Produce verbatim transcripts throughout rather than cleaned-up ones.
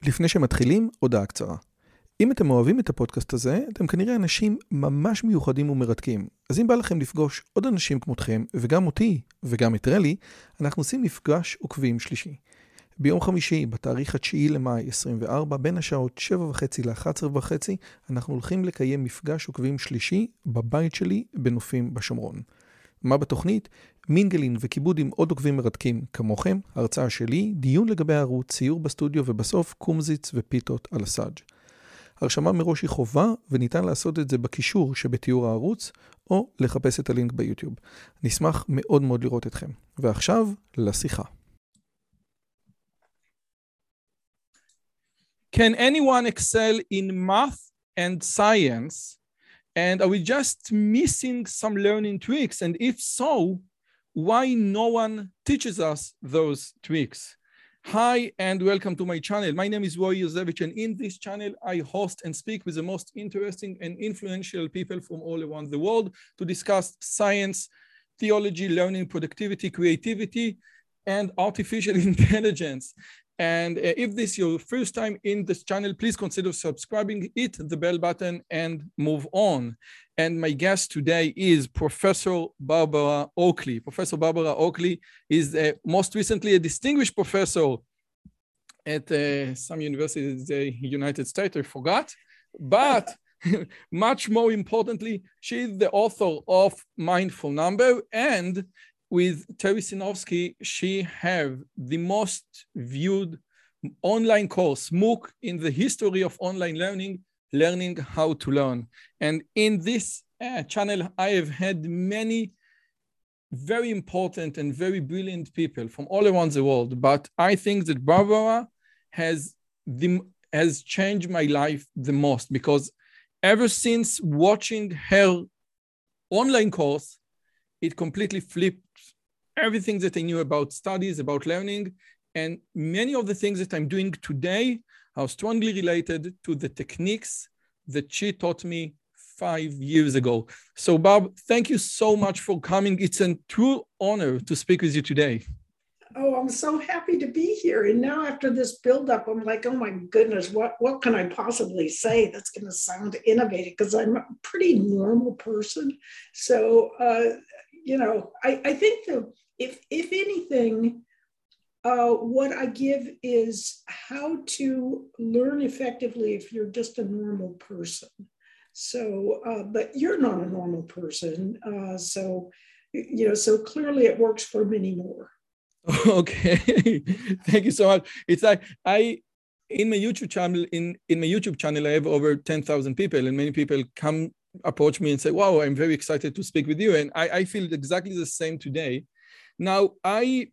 לפני שמתחילים, הודעה קצרה. אם אתם אוהבים את הפודקאסט הזה, אתם כנראה אנשים ממש מיוחדים ומרתקים. אז אם בא לכם לפגוש עוד אנשים כמותכם, וגם אותי, וגם את רלי, אנחנו עושים מפגש עוקבים שלישי. ביום חמישי, בתאריך התשיעי למאי עשרים וארבע, בין השעות שבע וחצי ל-אחת עשרה וחצי, אנחנו הולכים לקיים מפגש עוקבים שלישי בבית שלי בנופים בשומרון. מה בתוכנית? מינגלין וכיבוד עם עוד עוקבים מרתקים כמוכם, הרצאה שלי, דיון לגבי הערוץ, ציור בסטודיו ובסוף קומזיץ ופיתות על הסאג'. הרשמה מראש היא חובה וניתן לעשות את זה בקישור שבתיאור הערוץ או לחפש את הלינק ביוטיוב. נשמח מאוד מאוד לראות אתכם. ועכשיו לשיחה. Can anyone excel in math and science? And are we just missing some learning tricks? And if so, why no one teaches us those tricks? Hi, and welcome to my channel. My name is Roy Yosevich, and in this channel, I host and speak with the most interesting and influential people from all around the world to discuss science, theology, learning, productivity, creativity, and artificial intelligence. And uh, if this is your first time in this channel, please consider subscribing, hit the bell button, and move on. And my guest today is Professor Barbara Oakley. Professor Barbara Oakley is uh, most recently a distinguished professor at uh, some university in the United States, I forgot. But much more importantly, she is the author of Mindful Number, and with Terry Sinofsky, she have the most viewed online course, MOOC, in the history of online learning, Learning How to Learn. And in this uh, channel, I have had many very important and very brilliant people from all around the world. But I think that Barbara has, the, has changed my life the most, because ever since watching her online course, it completely flipped everything that I knew about studies, about learning, and many of the things that I'm doing today are strongly related to the techniques that she taught me five years ago. So, Bob, thank you so much for coming. It's a true honor to speak with you today. Oh, I'm so happy to be here. And now after this buildup, I'm like, oh my goodness, what, what can I possibly say that's going to sound innovative? Because I'm a pretty normal person. So, uh, you know, I, I think the, if, if anything, uh, what I give is how to learn effectively if you're just a normal person. So, uh, but you're not a normal person. Uh, so, you know, so clearly it works for many more. Okay, thank you so much. It's like I, in my YouTube channel, in, in my YouTube channel, I have over ten thousand people, and many people come approach me and say, wow, I'm very excited to speak with you. And I, I feel exactly the same today. Now, I,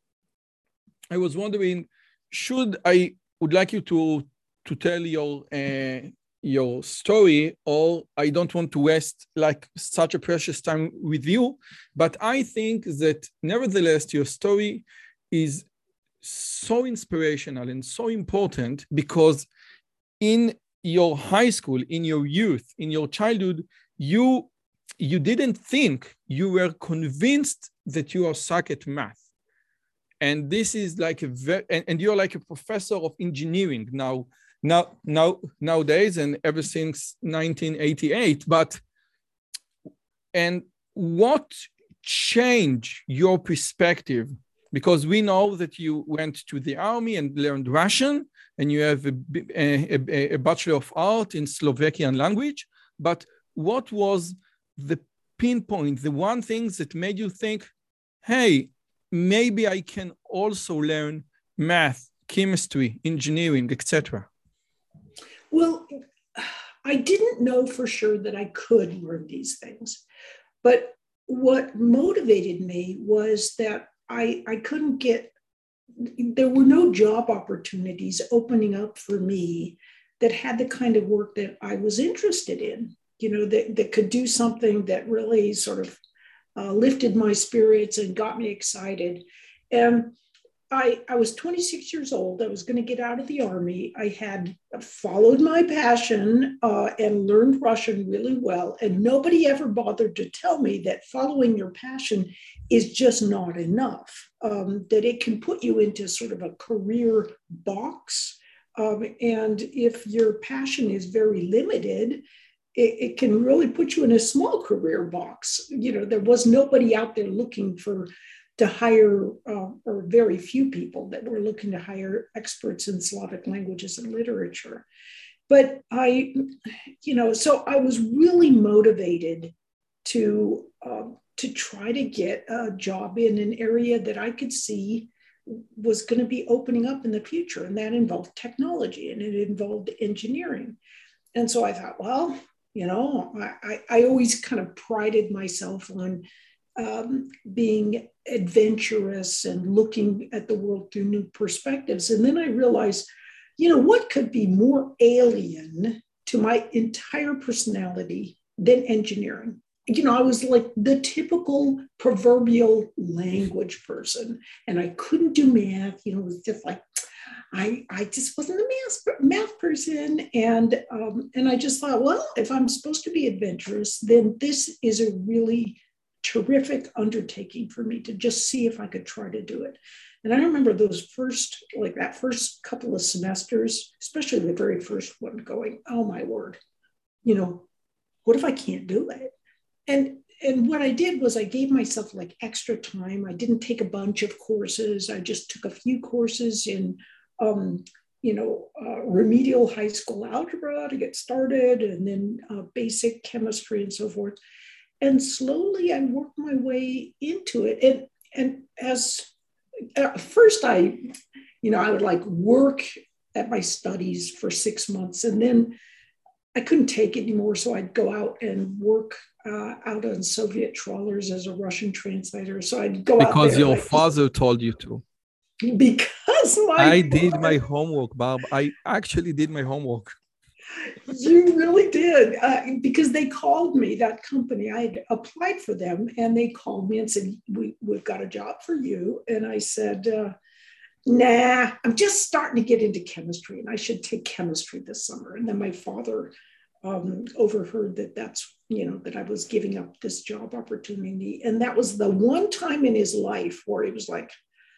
I was wondering, should I would like you to, to tell your, uh, your story, or I don't want to waste like such a precious time with you, but I think that nevertheless your story is so inspirational and so important, because in your high school, in your youth, in your childhood, you you didn't think, you were convinced that you are suck at math. And this is like a very, and, and you're like a professor of engineering now. Now, now, nowadays, and ever since nineteen eighty-eight, but, and what changed your perspective? Because we know that you went to the army and learned Russian, and you have a, a, a Bachelor of Art in Slovakian language, but what was the pinpoint, the one thing that made you think, hey, maybe I can also learn math, chemistry, engineering, et cetera? Well, I didn't know for sure that I could learn these things, but what motivated me was that I, I couldn't get, there were no job opportunities opening up for me that had the kind of work that I was interested in, you know, that, that could do something that really sort of uh, lifted my spirits and got me excited. And I, I was twenty-six years old. I was going to get out of the army. I had followed my passion uh, and learned Russian really well. And nobody ever bothered to tell me that following your passion is just not enough, um, that it can put you into sort of a career box Um, and if your passion is very limited, it, it can really put you in a small career box. You know, there was nobody out there looking for to hire, uh, or very few people that were looking to hire experts in Slavic languages and literature. But I, you know, so I was really motivated to uh, to try to get a job in an area that I could see was going to be opening up in the future, and that involved technology and it involved engineering. And so I thought, well, you know, I, I always kind of prided myself on um, being adventurous and looking at the world through new perspectives. And then I realized, you know, what could be more alien to my entire personality than engineering? You know, I was like the typical proverbial language person, and I couldn't do math. You know, it was just like, I, I just wasn't a math, math person. And, um, and I just thought, well, if I'm supposed to be adventurous, then this is a really terrific undertaking for me to just see if I could try to do it. And I remember those first, like that first couple of semesters, especially the very first one, going, oh my word, you know, what if I can't do it? And, and what I did was I gave myself like extra time. I didn't take a bunch of courses. I just took a few courses in, um, you know, uh, remedial high school algebra to get started, and then uh, basic chemistry and so forth. And slowly I worked my way into it. And, and as at first I, you know, I would like work at my studies for six months and then I couldn't take it anymore. So I'd go out and work uh, out on Soviet trawlers as a Russian translator. So I'd go because out there. Because your like, father told you to. Because my I father, did my homework, Barb. I actually did my homework. You really did, uh, because they called me, that company. I had applied for them, and they called me and said, we, we've got a job for you. And I said, uh, nah, I'm just starting to get into chemistry, and I should take chemistry this summer. And then my father um, overheard that that's, you know, that I was giving up this job opportunity. And that was the one time in his life where he was like,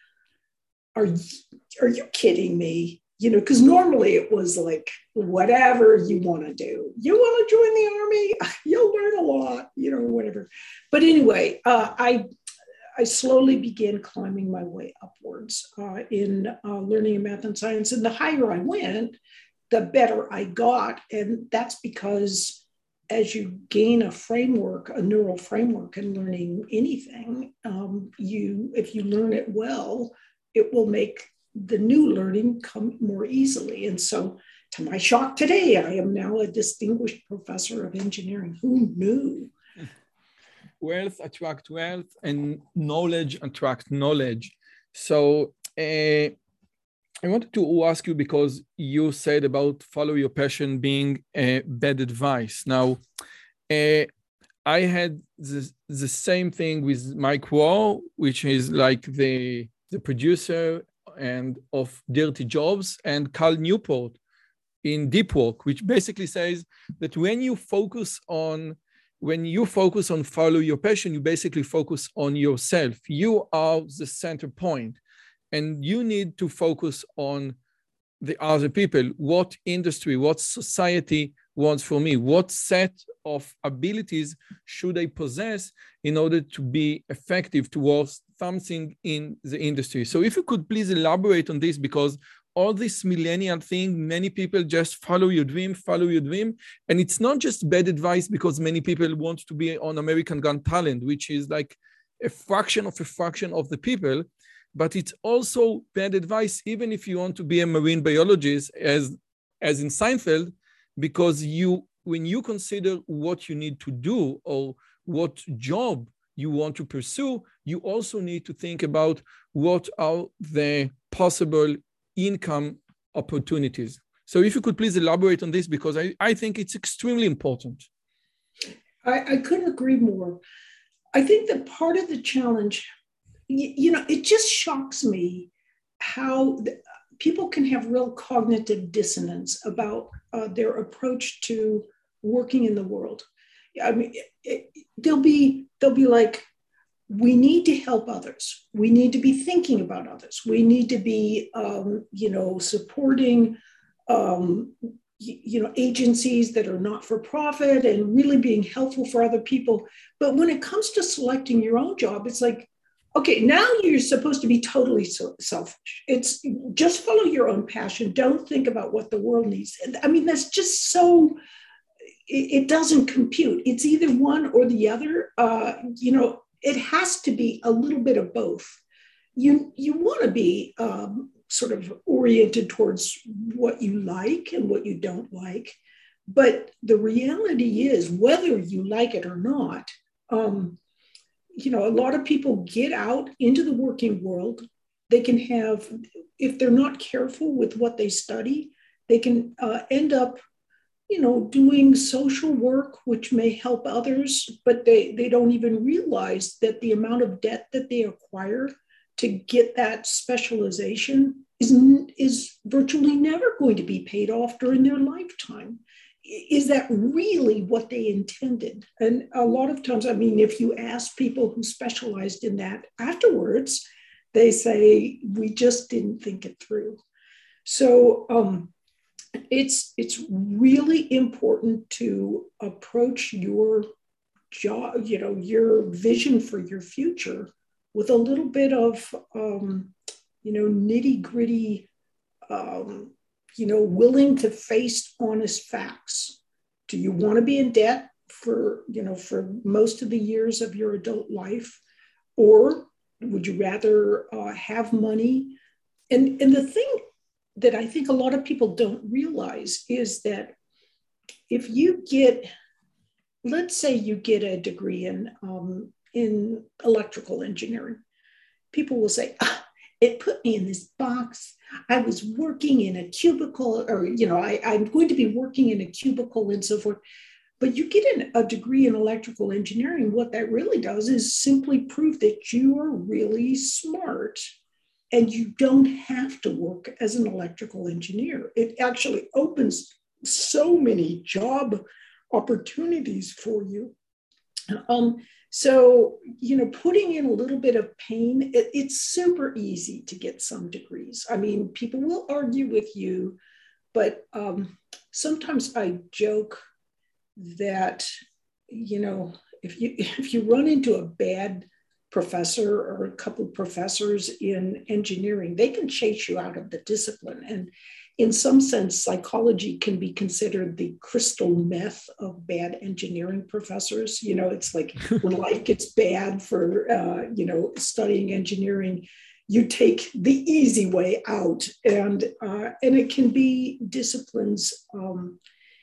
are you, are you kidding me? You know, because normally it was like, whatever you want to do. You want to join the army? You'll learn a lot, you know, whatever. But anyway, uh, I I slowly began climbing my way upwards uh, in uh, learning math and science. And the higher I went, the better I got. And that's because as you gain a framework, a neural framework in learning anything, um, you, if you learn it well, it will make the new learning come more easily. And so to my shock today, I am now a distinguished professor of engineering. Who knew? Wealth attract wealth and knowledge attract knowledge. So uh, I wanted to ask you, because you said about follow your passion being uh, bad advice. Now, uh, I had the, the same thing with Mike Rowe, which is like the, the producer and of Dirty Jobs, and Cal Newport in Deep Work, which basically says that when you focus on when you focus on follow your passion, you basically focus on yourself. You are the center point, and you need to focus on the other people. What industry, what society wants from me? What set of abilities should I possess in order to be effective towards something in the industry? So if you could please elaborate on this, because all this millennial thing, many people just follow your dream, follow your dream. And it's not just bad advice because many people want to be on American Got Talent, which is like a fraction of a fraction of the people. But it's also bad advice, even if you want to be a marine biologist, as, as in Seinfeld, because you, when you consider what you need to do or what job you want to pursue, you also need to think about what are the possible income opportunities. So if you could please elaborate on this, because I, I think it's extremely important. I, I couldn't agree more. I think that part of the challenge, you, you know, it just shocks me how the, people can have real cognitive dissonance about uh, their approach to working in the world. I mean, it, it, they'll be they'll be like, we need to help others. We need to be thinking about others. We need to be, um, you know, supporting um, you know, agencies that are not for profit and really being helpful for other people. But when it comes to selecting your own job, it's like, okay, now you're supposed to be totally selfish. It's just follow your own passion. Don't think about what the world needs. I mean, that's just so, it, it doesn't compute. It's either one or the other. Uh, you know, it has to be a little bit of both. You, you want to be um, sort of oriented towards what you like and what you don't like. But the reality is, whether you like it or not, um, you know, a lot of people get out into the working world. They can have, if they're not careful with what they study, they can uh, end up, you know, doing social work, which may help others, but they, they don't even realize that the amount of debt that they acquire to get that specialization is, is virtually never going to be paid off during their lifetime. Is that really what they intended? And a lot of times, I mean, if you ask people who specialized in that afterwards, they say, we just didn't think it through. So um, it's, it's really important to approach your job, you know, your vision for your future with a little bit of, um, you know, nitty gritty, um, you know, willing to face honest facts. Do you want to be in debt for, you know, for most of the years of your adult life? Or would you rather uh, have money? And, and the thing that I think a lot of people don't realize is that if you get, let's say you get a degree in, um, in electrical engineering, people will say, ah, it put me in this box. I was working in a cubicle, or, you know, I, I'm going to be working in a cubicle and so forth. But you get an, a degree in electrical engineering, what that really does is simply prove that you are really smart and you don't have to work as an electrical engineer. It actually opens so many job opportunities for you. Um, So, you know, putting in a little bit of pain, it, it's super easy to get some degrees. I mean, people will argue with you, but um, sometimes I joke that, you know, if you if you run into a bad professor or a couple of professors in engineering, they can chase you out of the discipline. And in some sense, psychology can be considered the crystal meth of bad engineering professors. You know, it's like when life gets bad for, uh, you know, studying engineering, you take the easy way out. And, uh, and it can be disciplines um,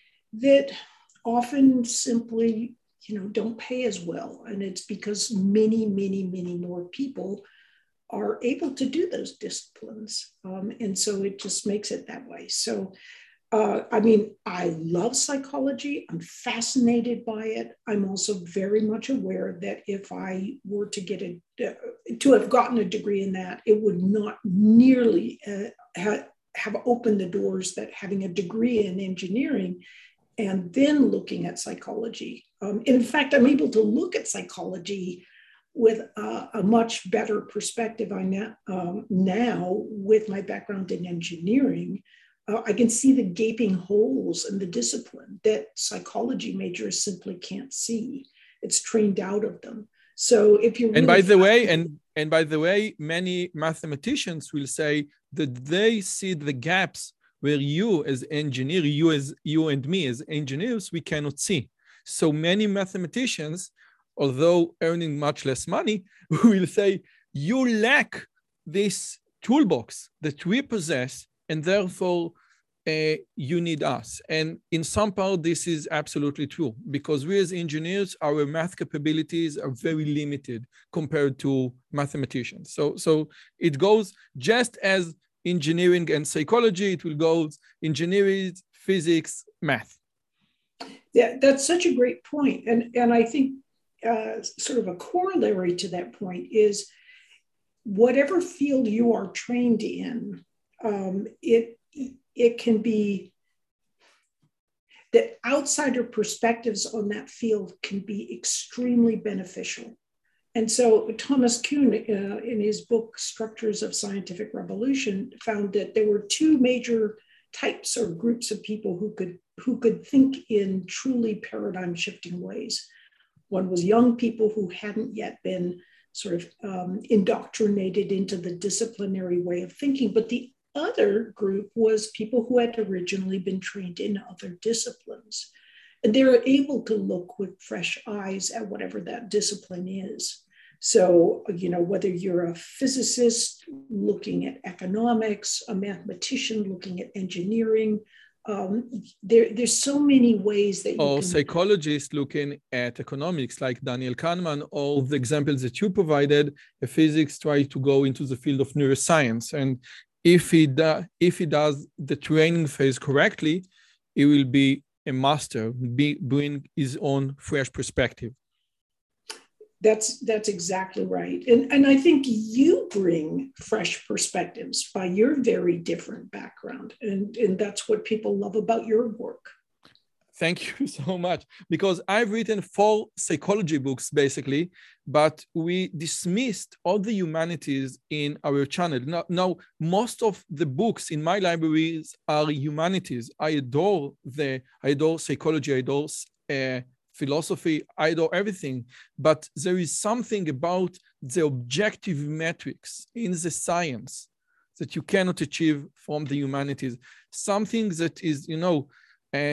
that often simply, you know, don't pay as well. And it's because many, many, many more people are able to do those disciplines. Um, and so it just makes it that way. So, uh, I mean, I love psychology. I'm fascinated by it. I'm also very much aware that if I were to get a, uh, to have gotten a degree in that, it would not nearly uh, ha- have opened the doors that having a degree in engineering and then looking at psychology. Um, in fact, I'm able to look at psychology with a, a much better perspective I now, um, now with my background in engineering. Uh, I can see the gaping holes in the discipline that psychology majors simply can't see. It's trained out of them. So if you're and really by the way, and and by the way, many mathematicians will say that they see the gaps where you as engineer, you as you and me as engineers, we cannot see. So many mathematicians, although earning much less money, will say, you lack this toolbox that we possess, and therefore uh, you need us. And in some part, this is absolutely true, because we as engineers, our math capabilities are very limited compared to mathematicians. So, so it goes just as engineering and psychology, it will go engineering, physics, math. Yeah, that's such a great point. And, and I think Uh, sort of a corollary to that point is whatever field you are trained in, um, it, it can be that outsider perspectives on that field can be extremely beneficial. And so Thomas Kuhn, uh, in his book, Structures of Scientific Revolution, found that there were two major types or groups of people who could who could think in truly paradigm shifting ways. One was young people who hadn't yet been sort of um, indoctrinated into the disciplinary way of thinking, but the other group was people who had originally been trained in other disciplines. And they're able to look with fresh eyes at whatever that discipline is. So, you know, whether you're a physicist looking at economics, a mathematician looking at engineering, um, there, there's so many ways that you or can... psychologists looking at economics, like Daniel Kahneman, or the examples that you provided, a physics try to go into the field of neuroscience. And if he, do, if he does the training phase correctly, he will be a master, be, bring his own fresh perspective. That's that's exactly right. And, and I think you bring fresh perspectives by your very different background. And, and that's what people love about your work. Thank you so much. Because I've written four psychology books, basically, but we dismissed all the humanities in our channel. Now, now most of the books in my libraries are humanities. I adore the, I adore psychology, I adore uh, philosophy, I adore everything, but there is something about the objective metrics in the science that you cannot achieve from the humanities. Something that is, you know, uh,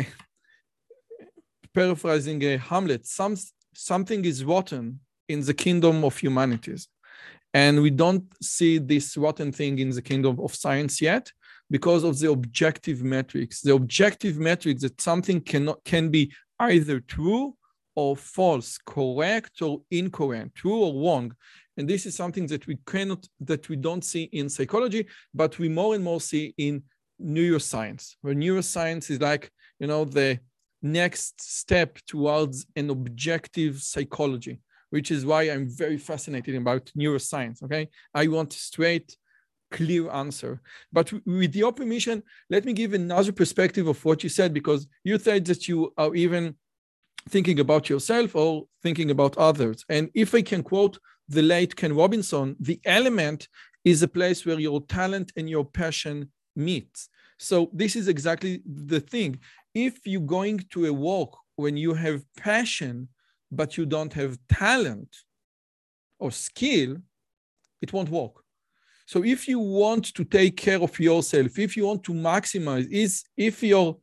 paraphrasing uh, Hamlet, some, something is rotten in the kingdom of humanities. And we don't see this rotten thing in the kingdom of science yet because of the objective metrics. The objective metrics that something cannot can be either true or false, correct or incorrect, true or wrong. And this is something that we cannot, that we don't see in psychology, but we more and more see in neuroscience, where neuroscience is like, you know, the next step towards an objective psychology, which is why I'm very fascinated about neuroscience, okay? I want a straight, clear answer. But with your permission, let me give another perspective of what you said, because you said that you are even thinking about yourself or thinking about others. And if I can quote the late Ken Robinson, the element is a place where your talent and your passion meet. So this is exactly the thing. If you're going to a walk when you have passion, but you don't have talent or skill, it won't work. So if you want to take care of yourself, if you want to maximize, is if your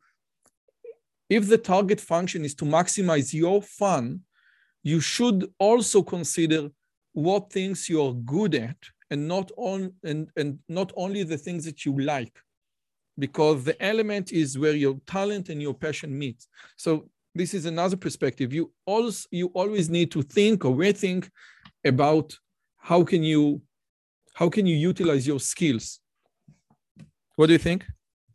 if the target function is to maximize your fun, you should also consider what things you are good at and not on and, and not only the things that you like, because the element is where your talent and your passion meet. So this is another perspective. You also you always need to think or rethink about how can you how can you utilize your skills. What do you think?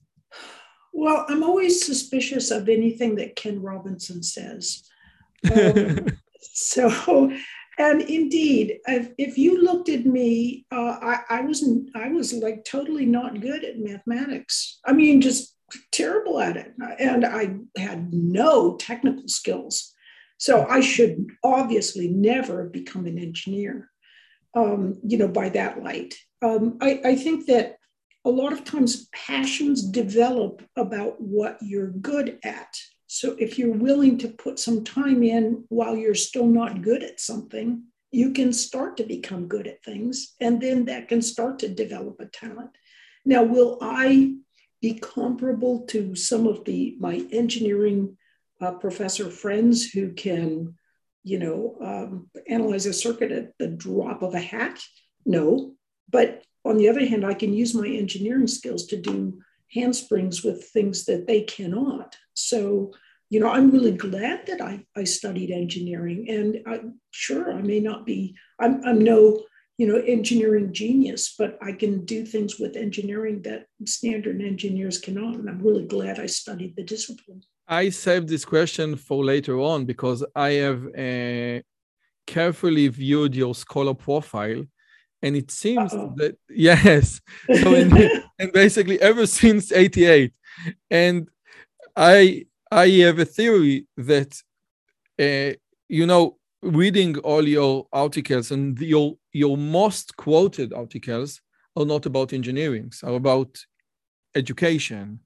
Well, I'm always suspicious of anything that Ken Robinson says. Um, so, and indeed, if, if you looked at me, uh, I, I wasn't, I was like totally not good at mathematics. I mean, just terrible at it. And I had no technical skills. So I should obviously never become an engineer, um, you know, by that light. Um, I, I think that a lot of times passions develop about what you're good at. So if you're willing to put some time in while you're still not good at something, you can start to become good at things, and then that can start to develop a talent. Now, will I be comparable to some of the my engineering uh, professor friends who can, you know, um, analyze a circuit at the drop of a hat? No, but on the other hand, I can use my engineering skills to do handsprings with things that they cannot. So, you know, I'm really glad that I, I studied engineering. And I'm sure I may not be, I'm, I'm no, you know, engineering genius, but I can do things with engineering that standard engineers cannot. And I'm really glad I studied the discipline. I saved this question for later on because I have uh, carefully viewed your scholar profile. And it seems Uh-oh. that, yes, so in, and basically ever since eighty-eight. And I I have a theory that, uh, you know, reading all your articles and your, your most quoted articles are not about engineering, are about education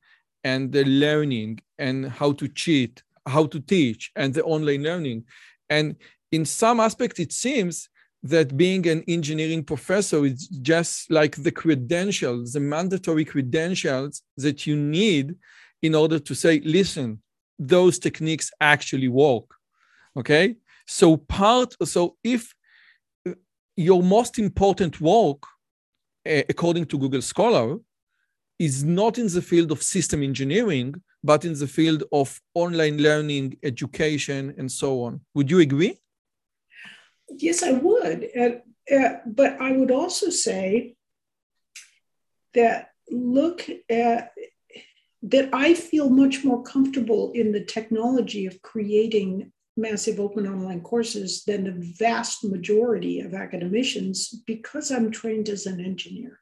and the learning and how to cheat, how to teach, and the online learning. And in some aspects, it seems that being an engineering professor is just like the credentials, the mandatory credentials that you need in order to say, listen, those techniques actually work. Okay? So part, so if your most important work, uh, according to Google Scholar, is not in the field of system engineering, but in the field of online learning, education, and so on. Would you agree? Yes, I would. Uh, uh, but I would also say that look at that I feel much more comfortable in the technology of creating massive open online courses than the vast majority of academicians because I'm trained as an engineer.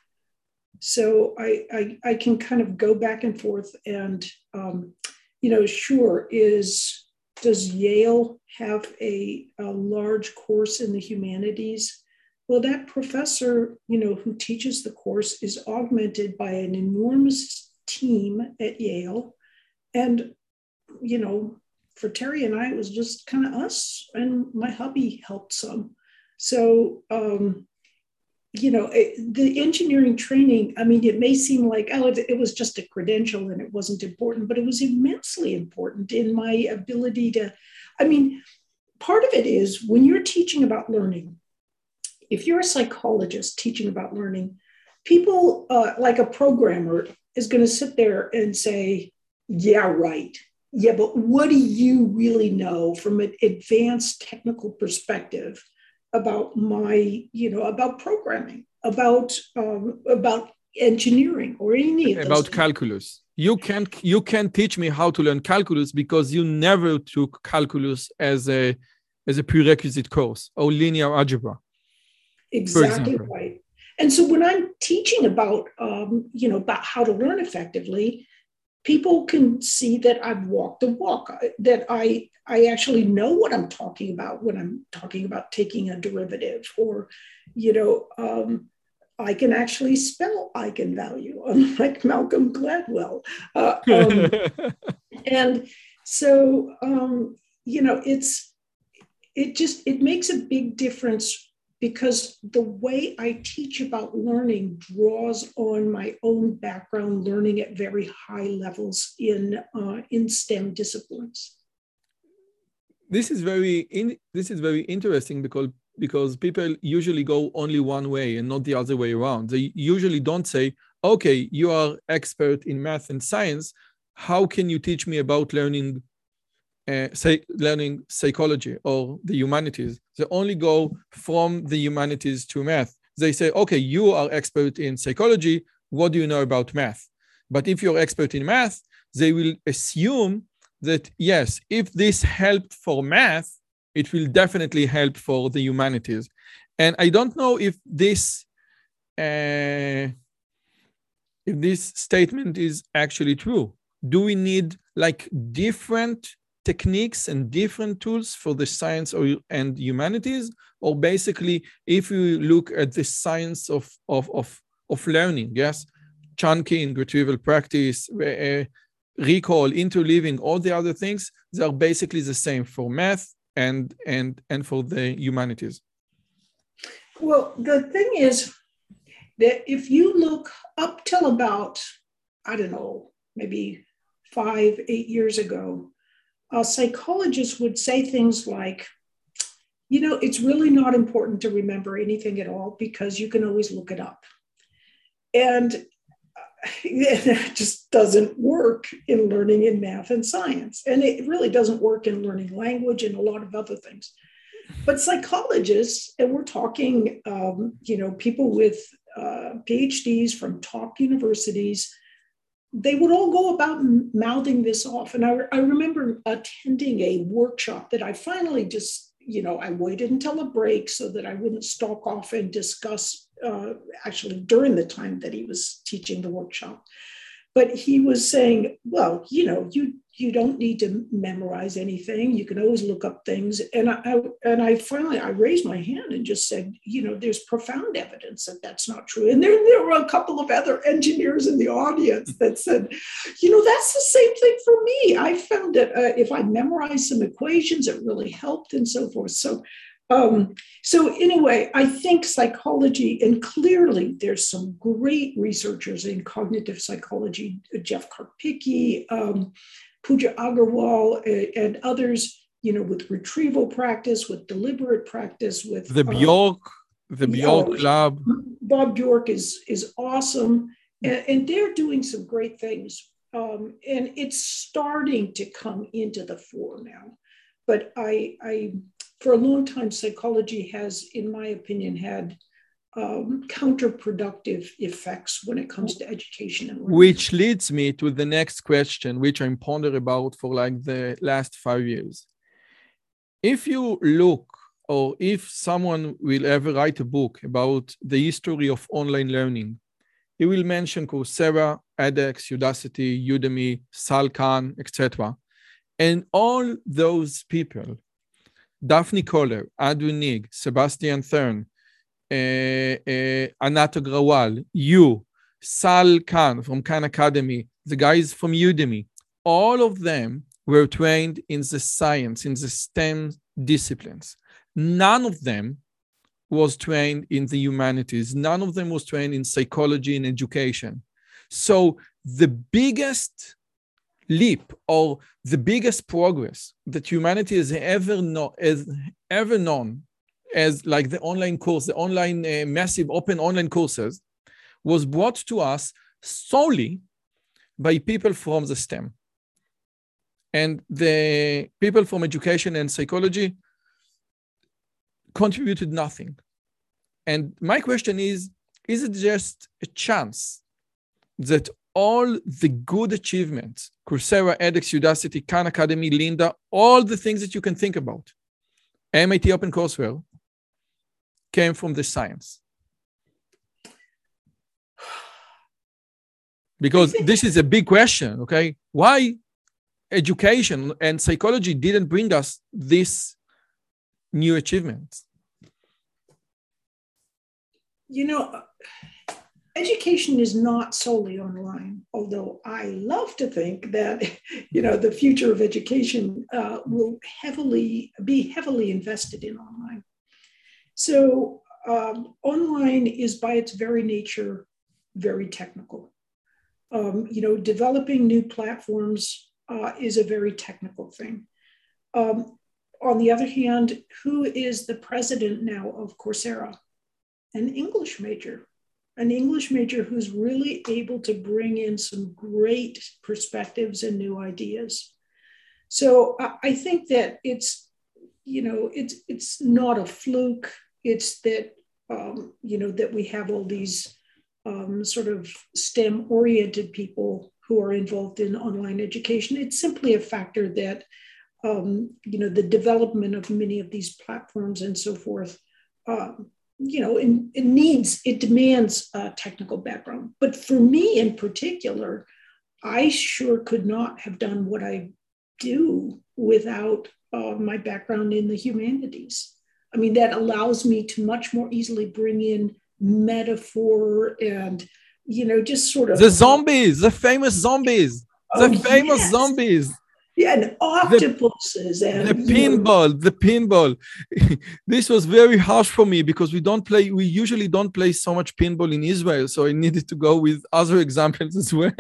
So I, I, I can kind of go back and forth and, um, you know, sure, is, does Yale have a, a large course in the humanities? Well, that professor, you know, who teaches the course is augmented by an enormous team at Yale. And, you know, for Terry and I, it was just kind of us, and my hubby helped some. So, um, you know, it, the engineering training, I mean, it may seem like, oh, it, it was just a credential and it wasn't important, but it was immensely important in my ability to, I mean, part of it is when you're teaching about learning, if you're a psychologist teaching about learning, people uh, like a programmer is going to sit there and say, yeah, right. Yeah, but what do you really know from an advanced technical perspective about my, you know, about programming, about um, about engineering, or any of those about things. Calculus? You can't you can't teach me how to learn calculus because you never took calculus as a as a prerequisite course, or linear algebra. Exactly right. And so when I'm teaching about, um, you know, about how to learn effectively, people can see that I've walked the walk, that I, I actually know what I'm talking about when I'm talking about taking a derivative, or, you know, um, I can actually spell eigenvalue, unlike Malcolm Gladwell. Uh, um, and so, um, you know, it's, it just, it makes a big difference because the way I teach about learning draws on my own background learning at very high levels in uh, in STEM disciplines. This is very in, this is very interesting because because people usually go only one way and not the other way around. They usually don't say, "Okay, you are expert in math and science. How can you teach me about learning?" Uh, say learning psychology or the humanities. They only go from the humanities to math. They say, okay, you are expert in psychology. What do you know about math? But if you're expert in math, they will assume that, yes, if this helped for math, it will definitely help for the humanities. And I don't know if this, uh, if this statement is actually true. Do we need like different techniques and different tools for the science or, and humanities? Or basically, if you look at the science of, of, of, of learning, yes, chunking, retrieval practice, uh, recall, interleaving, all the other things, they are basically the same for math and, and, and for the humanities. Well, the thing is that if you look up till about, I don't know, maybe five, eight years ago, a psychologist would say things like, you know, it's really not important to remember anything at all because you can always look it up. And that just doesn't work in learning in math and science. And it really doesn't work in learning language and a lot of other things. But psychologists, and we're talking, um, you know, people with uh, PhDs from top universities, they would all go about mouthing this off. And I, I remember attending a workshop that I finally just, you know, I waited until a break so that I wouldn't stalk off and discuss uh, actually during the time that he was teaching the workshop. But he was saying, well, you know, you you don't need to memorize anything. You can always look up things. And I, I and I finally, I raised my hand and just said, you know, there's profound evidence that that's not true. And there, there were a couple of other engineers in the audience that said, you know, that's the same thing for me. I found that uh, if I memorized some equations, it really helped and so forth. So, um, so anyway, I think psychology, and clearly there's some great researchers in cognitive psychology, Jeff Karpicki, um, Pooja Agarwal, uh, and others, you know, with retrieval practice, with deliberate practice, with the Bjork, um, the Bjork yeah, Lab. Bob Bjork is is awesome, and, and they're doing some great things. Um, and it's starting to come into the fore now. But I, I, for a long time, psychology has, in my opinion, had um, counterproductive effects when it comes to education and learning. Which leads me to the next question, which I'm pondering about for like the last five years. If you look, or if someone will ever write a book about the history of online learning, he will mention Coursera, edX, Udacity, Udemy, Sal Khan, et cetera. And all those people, Daphne Koller, Adu Nig, Sebastian Thurn, uh, uh, Anat Agrawal, you, Sal Khan from Khan Academy, the guys from Udemy, all of them were trained in the science, in the STEM disciplines. None of them was trained in the humanities. None of them was trained in psychology and education. So the biggest leap or the biggest progress that humanity has ever, know, has ever known as like the online course, the online uh, massive open online courses was brought to us solely by people from the STEM. And the people from education and psychology contributed nothing. And my question is, is it just a chance that all the good achievements, Coursera, edX, Udacity, Khan Academy, Lynda, all the things that you can think about, M I T OpenCourseWare, came from the science? Because this is a big question, okay? Why education and psychology didn't bring us this new achievements? You know, education is not solely online, although I love to think that, you know, the future of education uh, will heavily be heavily invested in online. So um, online is by its very nature very technical. Um, you know, developing new platforms uh, is a very technical thing. Um, on the other hand, who is the president now of Coursera? An English major. An English major who's really able to bring in some great perspectives and new ideas. So I, I think that it's, you know, it's it's not a fluke. It's that, um, you know, that we have all these um, sort of STEM-oriented people who are involved in online education. It's simply a factor that, um, you know, the development of many of these platforms and so forth, um, you know, it, it needs, it demands a technical background. But for me in particular, I sure could not have done what I do without uh, my background in the humanities. I mean, that allows me to much more easily bring in metaphor and, you know, just sort of... The zombies, the famous zombies, oh, the famous yes. zombies. Yeah, and octopuses the, and the pinball, know. the pinball. This was very harsh for me because we don't play, we usually don't play so much pinball in Israel. So I needed to go with other examples as well.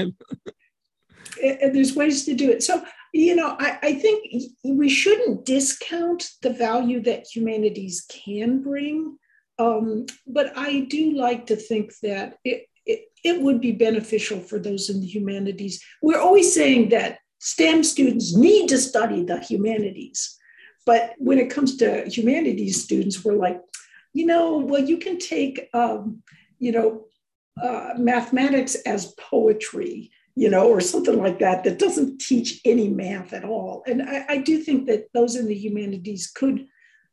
And there's ways to do it. So, you know, I, I think we shouldn't discount the value that humanities can bring. Um, but I do like to think that it, it, it would be beneficial for those in the humanities. We're always saying that STEM students need to study the humanities. But when it comes to humanities students, we're like, you know, well, you can take, um, you know, uh, mathematics as poetry, you know, or something like that, that doesn't teach any math at all. And I, I do think that those in the humanities could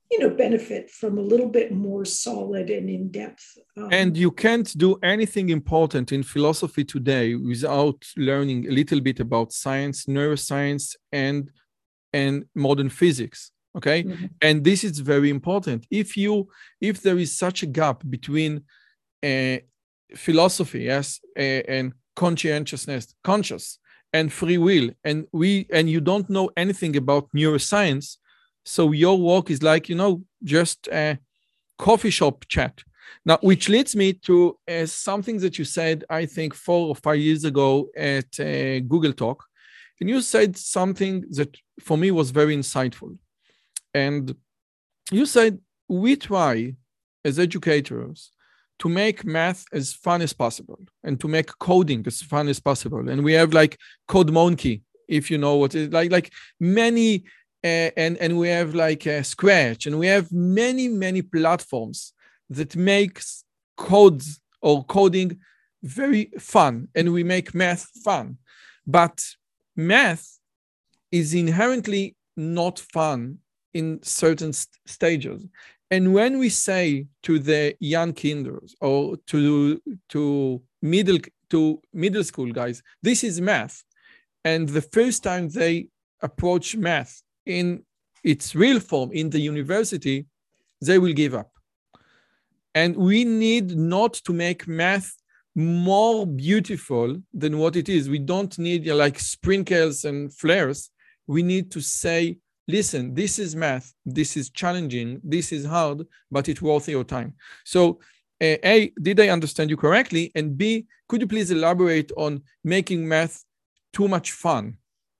you know, benefit from a little bit more solid and in-depth. Um, and you can't do anything important in philosophy today without learning a little bit about science, neuroscience, and, and modern physics. Okay. Mm-hmm. And this is very important. If you, if there is such a gap between uh, philosophy, yes, uh, and conscientiousness, conscious, and free will, and we, and you don't know anything about neuroscience, so your work is like, you know, just a coffee shop chat. Now, which leads me to uh, something that you said, I think, four or five years ago at uh, Google Talk, and you said something that for me was very insightful. And you said, we try as educators to make math as fun as possible and to make coding as fun as possible. And we have like Code Monkey, if you know what it is, like, like many, uh, and, and we have like uh, Scratch, and we have many, many platforms that makes codes or coding very fun, and we make math fun. But math is inherently not fun in certain st- stages. And when we say to the young kinders or to, to middle to middle school guys, this is math, and the first time they approach math in its real form in the university, they will give up. And we need not to make math more beautiful than what it is. We don't need uh, like sprinkles and flares. We need to say, listen, this is math, this is challenging, this is hard, but it's worth your time. So uh, A, did I understand you correctly? And B, could you please elaborate on making math too much fun?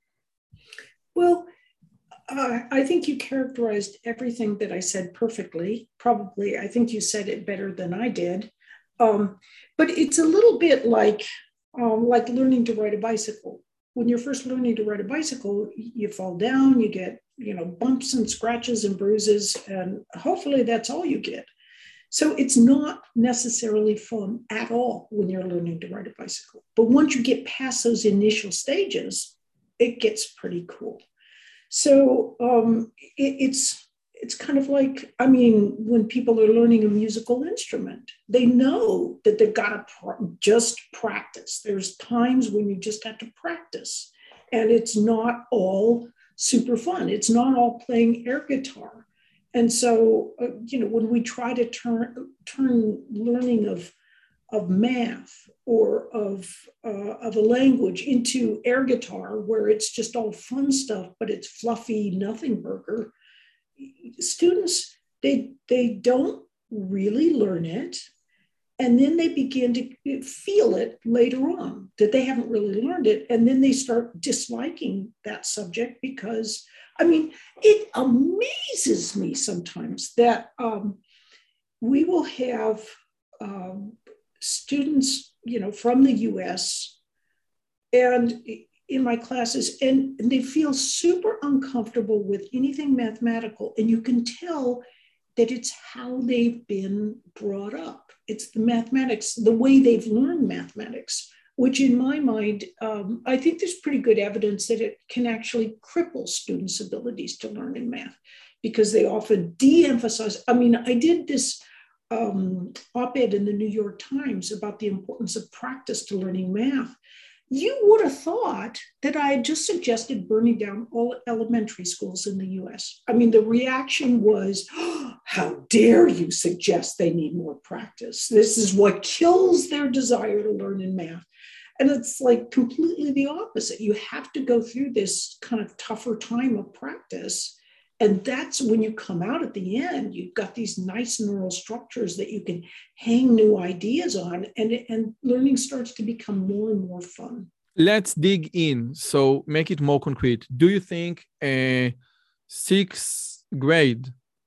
Well, uh, I think you characterized everything that I said perfectly. Probably, I think you said it better than I did. Um, but it's a little bit like, um, like learning to ride a bicycle. When you're first learning to ride a bicycle, you fall down, you get, you know, bumps and scratches and bruises, and hopefully that's all you get. So it's not necessarily fun at all when you're learning to ride a bicycle. But once you get past those initial stages, it gets pretty cool. So um, it, it's it's kind of like, I mean, when people are learning a musical instrument, they know that they've got to pr- just practice. There's times when you just have to practice, and it's not all super fun. It's not all playing air guitar. And so, uh, you know, when we try to turn turn learning of of math or of uh, of a language into air guitar, where it's just all fun stuff, but it's fluffy nothing burger, students, they they don't really learn it, and then they begin to feel it later on that they haven't really learned it, and then they start disliking that subject because, I mean, it amazes me sometimes that um, we will have um, students, you know, from the U S and in my classes, and, and they feel super uncomfortable with anything mathematical. And you can tell that it's how they've been brought up. It's the mathematics, the way they've learned mathematics, which in my mind, um, I think there's pretty good evidence that it can actually cripple students' abilities to learn in math, because they often de-emphasize. I mean, I did this um, op-ed in the New York Times about the importance of practice to learning math. You would have thought that I had just suggested burning down all elementary schools in the U S. I mean, the reaction was, oh, how dare you suggest they need more practice? This is what kills their desire to learn in math. And it's like completely the opposite. You have to go through this kind of tougher time of practice. And that's when you come out at the end, you've got these nice neural structures that you can hang new ideas on, and, and learning starts to become more and more fun. Let's dig in. So make it more concrete. Do you think a sixth grade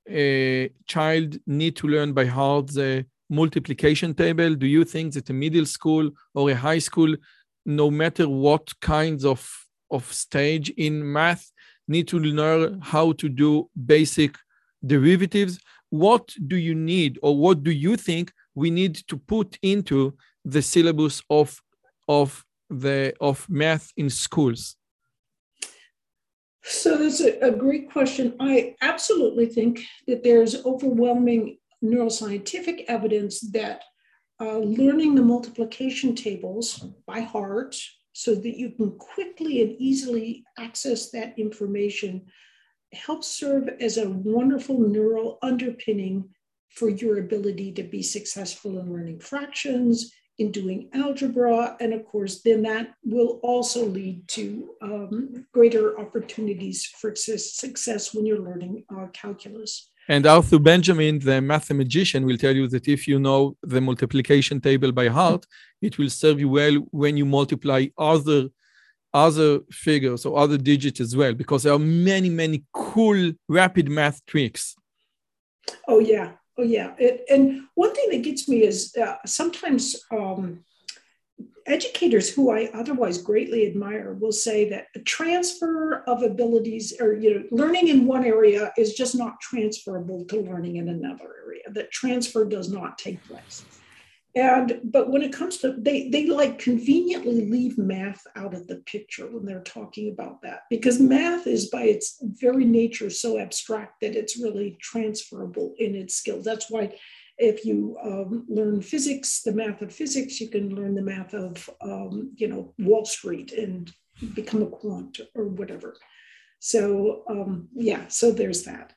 a child need to learn by heart the multiplication table? Do you think that a middle school or a high school, no matter what kinds of, of stage in math, need to learn how to do basic derivatives? What do you need, or what do you think we need to put into the syllabus of, of, the, of math in schools? So that's a, a great question. I absolutely think that there's overwhelming neuroscientific evidence that uh, learning the multiplication tables by heart so that you can quickly and easily access that information helps serve as a wonderful neural underpinning for your ability to be successful in learning fractions, in doing algebra, and of course, then that will also lead to um, greater opportunities for success when you're learning uh, calculus. And Arthur Benjamin, the mathematician, will tell you that if you know the multiplication table by heart, it will serve you well when you multiply other, other figures or other digits as well, because there are many, many cool rapid math tricks. Oh, yeah. Oh, yeah. It, and one thing that gets me is uh, sometimes um, educators who I otherwise greatly admire will say that a transfer of abilities or, you know, learning in one area is just not transferable to learning in another area, that transfer does not take place. And, but when it comes to, they, they like conveniently leave math out of the picture when they're talking about that, because math is by its very nature so abstract that it's really transferable in its skills. That's why if you um, learn physics, the math of physics, you can learn the math of, um, you know, Wall Street and become a quant or whatever. So, um, yeah, so there's that.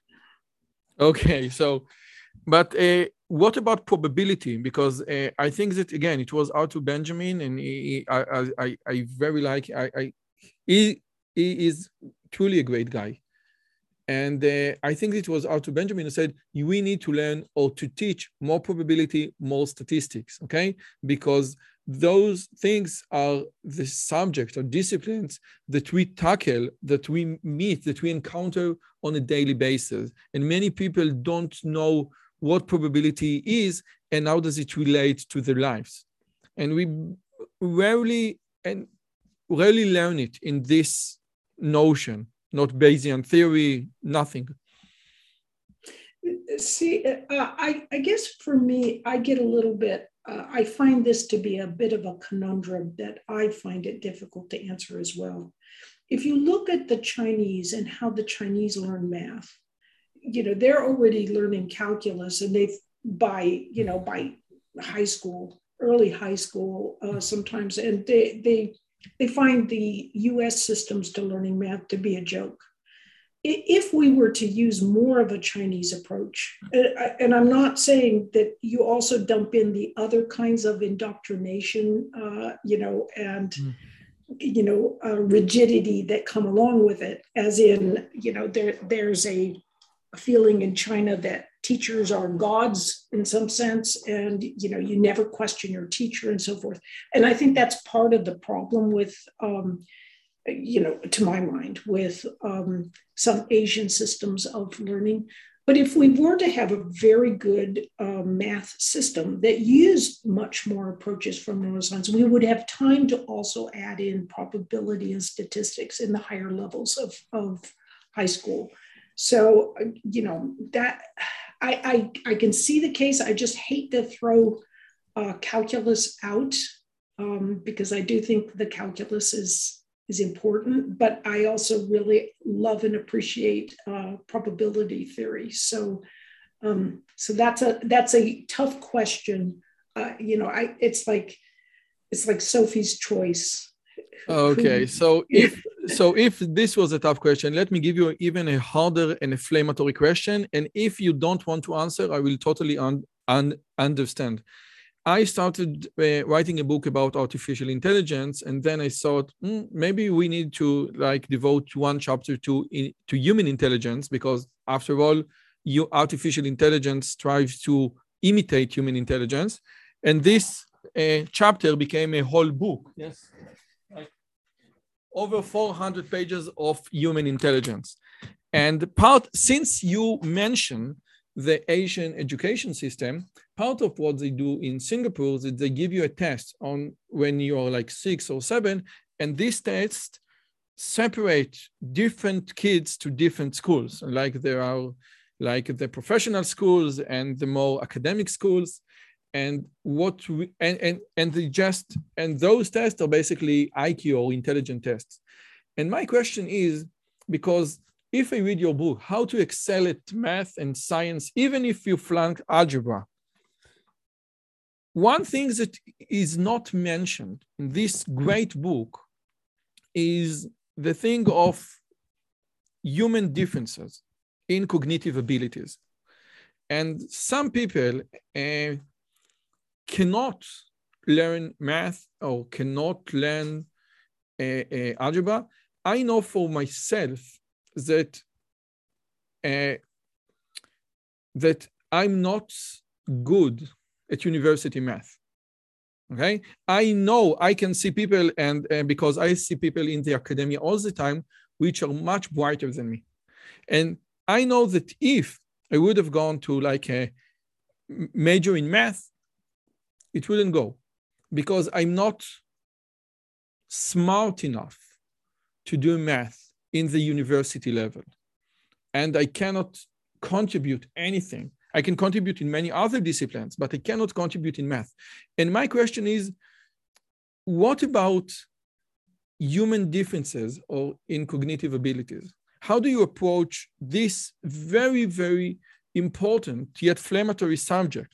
Okay, so, but uh, what about probability? Because uh, I think that, again, it was Arthur Benjamin, and he, I, I, I very like, I, I, he, he is truly a great guy. And uh, I think it was Arthur Benjamin who said, we need to learn or to teach more probability, more statistics, okay? Because those things are the subject or disciplines that we tackle, that we meet, that we encounter on a daily basis. And many people don't know what probability is and how does it relate to their lives. And we rarely, and rarely learn it in this notion. Not Bayesian theory, nothing. See, uh, I, I guess for me, I get a little bit, uh, I find this to be a bit of a conundrum that I find it difficult to answer as well. If you look at the Chinese and how the Chinese learn math, you know, they're already learning calculus, and they've by, you know, by high school, early high school uh, sometimes, and they, they, They find the U S systems to learning math to be a joke. If we were to use more of a Chinese approach, and I'm not saying that you also dump in the other kinds of indoctrination, uh, you know, and, mm. you know, uh, rigidity that come along with it, as in, you know, there, there's a, a feeling in China that teachers are gods in some sense, and, you know, you never question your teacher and so forth. And I think that's part of the problem with, um, you know, to my mind, with um, some Asian systems of learning. But if we were to have a very good uh, math system that used much more approaches from neuroscience, we would have time to also add in probability and statistics in the higher levels of, of high school. So, you know, that I, I, I can see the case. I just hate to throw uh, calculus out um, because I do think the calculus is, is important, but I also really love and appreciate uh, probability theory. So, um, so that's a, that's a tough question. Uh, you know, I, it's like, it's like Sophie's choice. Okay, so if so if this was a tough question, let me give you even a harder and inflammatory question. And if you don't want to answer, I will totally un- un- understand. I started uh, writing a book about artificial intelligence, and then I thought mm, maybe we need to like devote one chapter to in, to human intelligence, because after all, you artificial intelligence strives to imitate human intelligence, and this uh, chapter became a whole book. Yes. Over four hundred pages of human intelligence. And part, since you mentioned the Asian education system, part of what they do in Singapore is that they give you a test on when you are like six or seven, and this test separate different kids to different schools. Like there are like the professional schools and the more academic schools. And what we, and, and and they just and those tests are basically I Q or intelligent tests. And my question is, because if I read your book, How to Excel at Math and Science, even if you flunk algebra, one thing that is not mentioned in this great book is the thing of human differences in cognitive abilities. And some people uh, cannot learn math or cannot learn uh, uh, algebra. I know for myself that uh, that I'm not good at university math. Okay, I know I can see people, and, and because I see people in the academia all the time, which are much brighter than me, and I know that if I would have gone to like a major in math, it wouldn't go, because I'm not smart enough to do math in the university level, and I cannot contribute anything. I can contribute in many other disciplines, but I cannot contribute in math. And my question is, what about human differences or in cognitive abilities? How do you approach this very, very important yet inflammatory subject?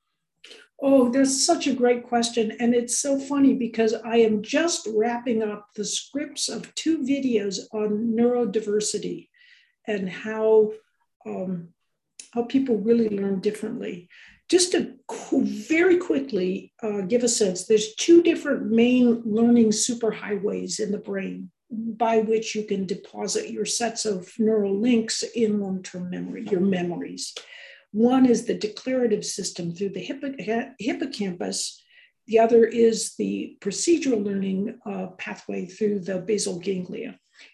Oh, that's such a great question. And it's so funny because I am just wrapping up the scripts of two videos on neurodiversity and how um, how people really learn differently. Just to very quickly uh, give a sense, there's two different main learning superhighways in the brain by which you can deposit your sets of neural links in long-term memory, your memories. One is the declarative system through the hippo- hippocampus. The other is the procedural learning uh, pathway through the basal ganglia.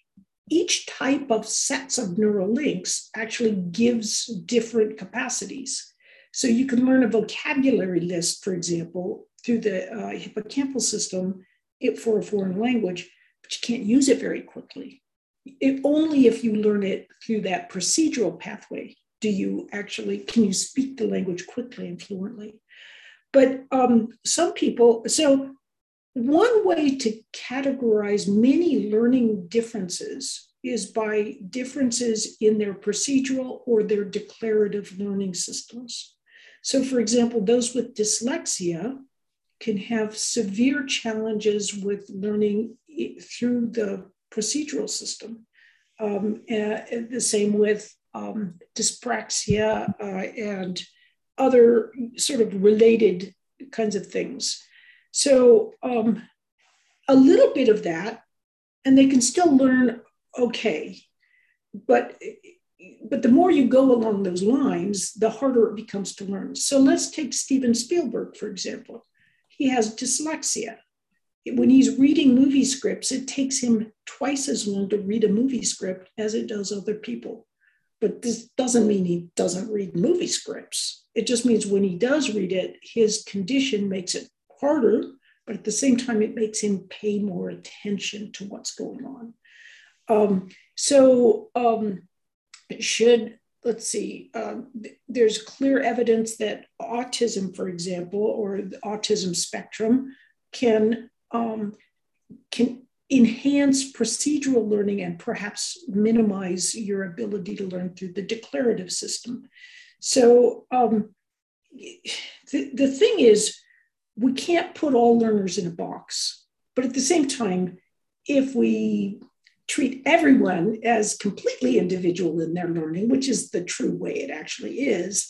Each type of sets of neural links actually gives different capacities. So you can learn a vocabulary list, for example, through the uh, hippocampal system it, for a foreign language, but you can't use it very quickly. It, only if you learn it through that procedural pathway do you actually, can you speak the language quickly and fluently. But um, some people, so one way to categorize many learning differences is by differences in their procedural or their declarative learning systems. So for example, those with dyslexia can have severe challenges with learning through the procedural system. Um, and the same with um, dyspraxia uh, and other sort of related kinds of things. So um, a little bit of that, and they can still learn okay, but, but the more you go along those lines, the harder it becomes to learn. So let's take Steven Spielberg, for example. He has dyslexia. When he's reading movie scripts, it takes him twice as long to read a movie script as it does other people. But this doesn't mean he doesn't read movie scripts. It just means when he does read it, his condition makes it harder, but at the same time, it makes him pay more attention to what's going on. Um, so um, should, let's see, um, th- there's clear evidence that autism, for example, or the autism spectrum can, um, can enhance procedural learning and perhaps minimize your ability to learn through the declarative system. So um, the, the thing is, we can't put all learners in a box, but at the same time, if we treat everyone as completely individual in their learning, which is the true way it actually is,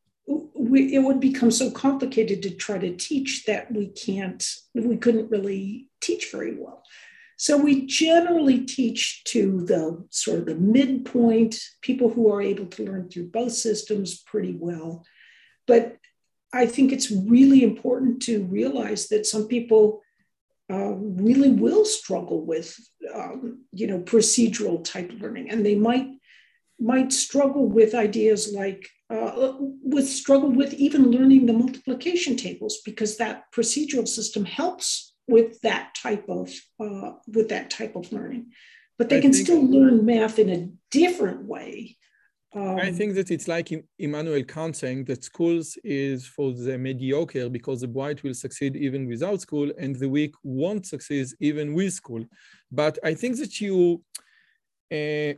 we, it would become so complicated to try to teach that we can't, we couldn't really teach very well. So we generally teach to the sort of the midpoint, people who are able to learn through both systems pretty well. But I think it's really important to realize that some people uh, really will struggle with, um, you know, procedural type learning, and they might might struggle with ideas like, uh, with struggle with even learning the multiplication tables, because that procedural system helps with that type of uh, with that type of learning, but they I can still learn math in a different way. Um, I think that it's like Immanuel Kant saying that schools is for the mediocre, because the bright will succeed even without school and the weak won't succeed even with school. But I think that you, uh,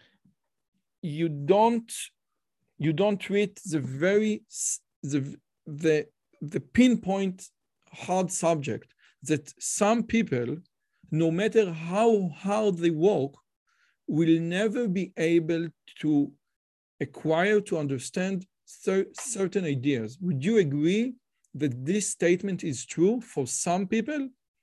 you don't you don't treat the very the the the pinpoint hard subject that some people, no matter how hard they work, will never be able to acquire, to understand cer- certain ideas. Would you agree that this statement is true for some people?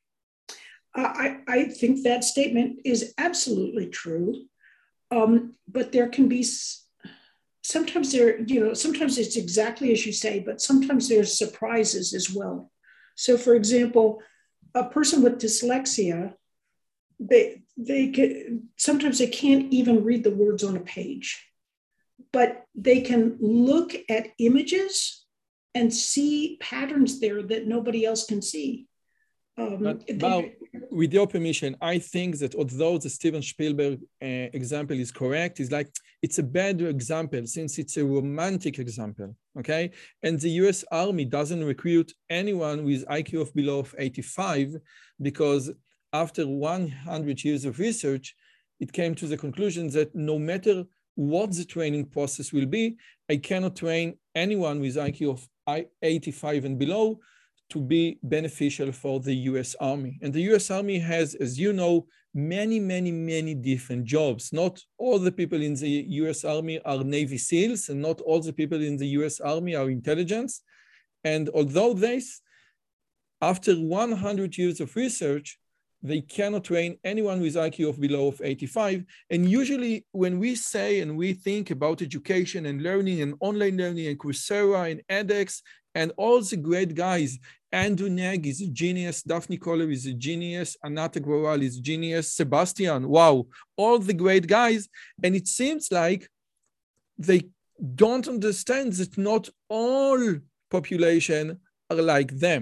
I, I think that statement is absolutely true. Um, but there can be, sometimes there, you know, sometimes it's exactly as you say, but sometimes there's surprises as well. So for example, a person with dyslexia, they, they can, sometimes they can't even read the words on a page, but they can look at images and see patterns there that nobody else can see. Um, but, they, but with your permission, I think that although the Steven Spielberg uh, example is correct, it's like it's a bad example since it's a romantic example, okay? And the U S Army doesn't recruit anyone with I Q of below eighty-five because after one hundred years of research, it came to the conclusion that no matter what the training process will be, I cannot train anyone with I Q of eighty-five and below to be beneficial for the U S Army. And the U S Army has, as you know, many, many, many different jobs. Not all the people in the U S Army are Navy SEALs, and not all the people in the U S Army are intelligence. And although this, after one hundred years of research, they cannot train anyone with I Q of below of eighty-five. And usually when we say and we think about education and learning and online learning and Coursera and edX and all the great guys, Andrew Nag is a genius, Daphne Koller is a genius, Anat Agrawal is a genius, Sebastian, wow, all the great guys. And it seems like they don't understand that not all population are like them.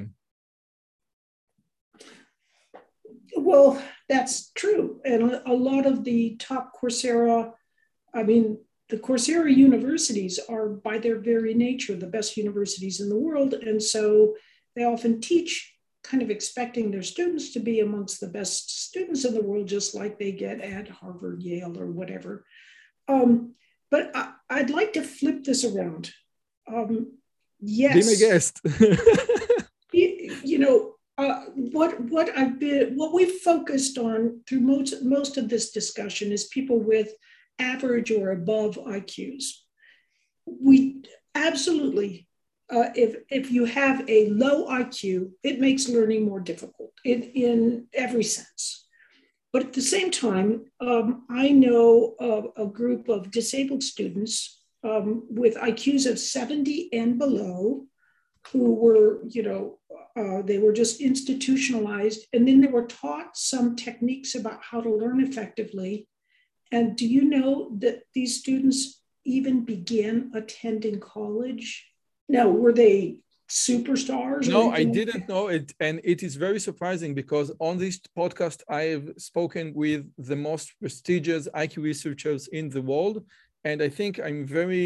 Well, that's true. And a lot of the top Coursera, I mean, the Coursera universities are by their very nature the best universities in the world. And so they often teach kind of expecting their students to be amongst the best students in the world, just like they get at Harvard, Yale, or whatever. Um, but I, I'd like to flip this around. Um, yes. Be my guest. you, you know, Uh, what what I've been what we've focused on through most most of this discussion is people with average or above I Qs. We absolutely, uh, if if you have a low I Q, it makes learning more difficult in, in every sense. But at the same time, um, I know a, a group of disabled students um, with I Qs of seventy and below, who were, you know, uh, they were just institutionalized. And then they were taught some techniques about how to learn effectively. And do you know that these students even began attending college? Now, were they superstars? No, I didn't know it. And it is very surprising because on this podcast, I have spoken with the most prestigious I Q researchers in the world. And I think I'm very...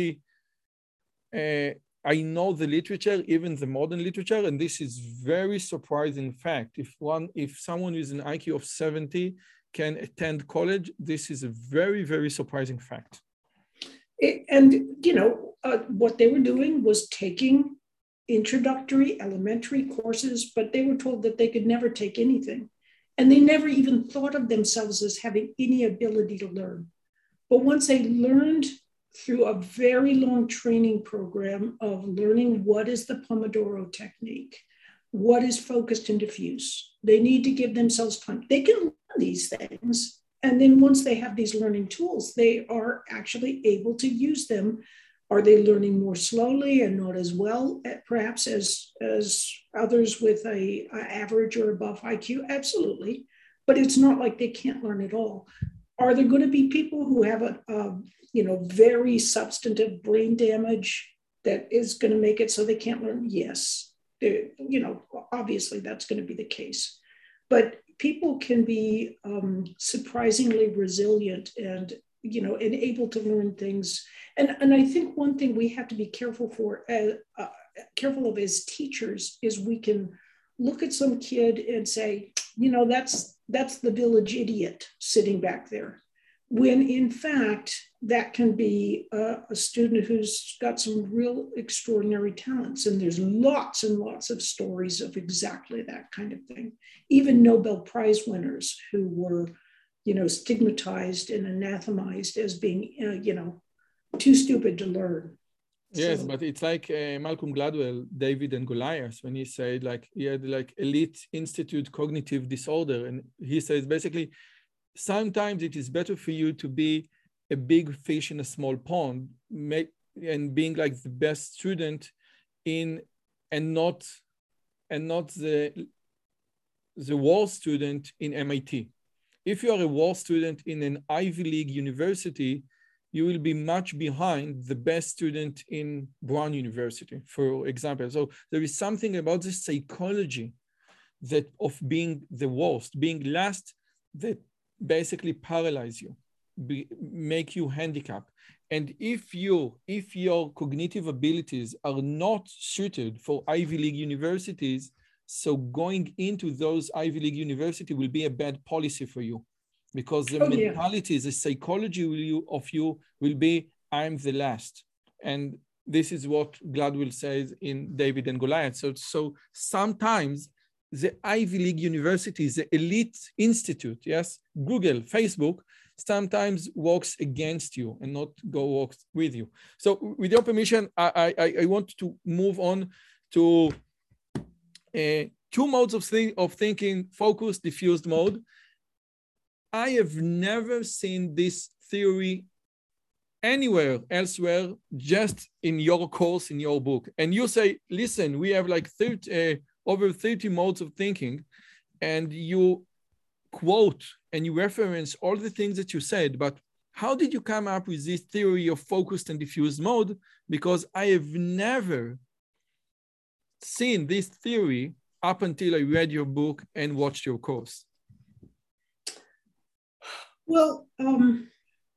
Uh, I know the literature, even the modern literature, and this is very surprising fact. If one, if someone with an I Q of seventy can attend college, this is a very, very surprising fact. And, you know, uh, what they were doing was taking introductory elementary courses, but they were told that they could never take anything. And they never even thought of themselves as having any ability to learn. But once they learned through a very long training program of learning what is the Pomodoro technique, what is focused and diffuse. They need to give themselves time. They can learn these things. And then once they have these learning tools, they are actually able to use them. Are they learning more slowly and not as well, perhaps as, as others with a, a average or above I Q? Absolutely. But it's not like they can't learn at all. Are there going to be people who have a, a you know, very substantive brain damage that is going to make it so they can't learn? Yes. They're, you know, obviously that's going to be the case. But people can be um, surprisingly resilient and, you know, and able to learn things. And, and I think one thing we have to be careful for, uh, uh, careful of as teachers is we can look at some kid and say, you know, that's, that's the village idiot sitting back there. when in fact, that can be a, a student who's got some real extraordinary talents. And there's lots and lots of stories of exactly that kind of thing. Even Nobel Prize winners who were, you know, stigmatized and anathemized as being, uh, you know, too stupid to learn. Yes, So, but it's like uh, Malcolm Gladwell, David and Goliath, when he said like he had like elite institute cognitive disorder. And he says basically, sometimes it is better for you to be a big fish in a small pond, make, and being like the best student in, and not, and not the, the worst student in M I T. If you are a worst student in an Ivy League university, you will be much behind the best student in Brown University, for example. So there is something about the psychology that of being the worst, being last, that basically paralyze you, be, make you handicapped. And if you, if your cognitive abilities are not suited for Ivy League universities, so going into those Ivy League university will be a bad policy for you, because the oh, yeah. mentality, the psychology will you, of you will be, I'm the last. And this is what Gladwell says in David and Goliath. So, so sometimes the Ivy League universities, the elite institute, yes, Google, Facebook, sometimes works against you and not go works with you. So with your permission, I, I, I want to move on to uh, two modes of, th of thinking, focused, diffused mode. I have never seen this theory anywhere elsewhere, just in your course, in your book. And you say, listen, we have like thirty, uh, over thirty modes of thinking, and you quote and you reference all the things that you said, but how did you come up with this theory of focused and diffused mode? Because I have never seen this theory up until I read your book and watched your course. Well, um,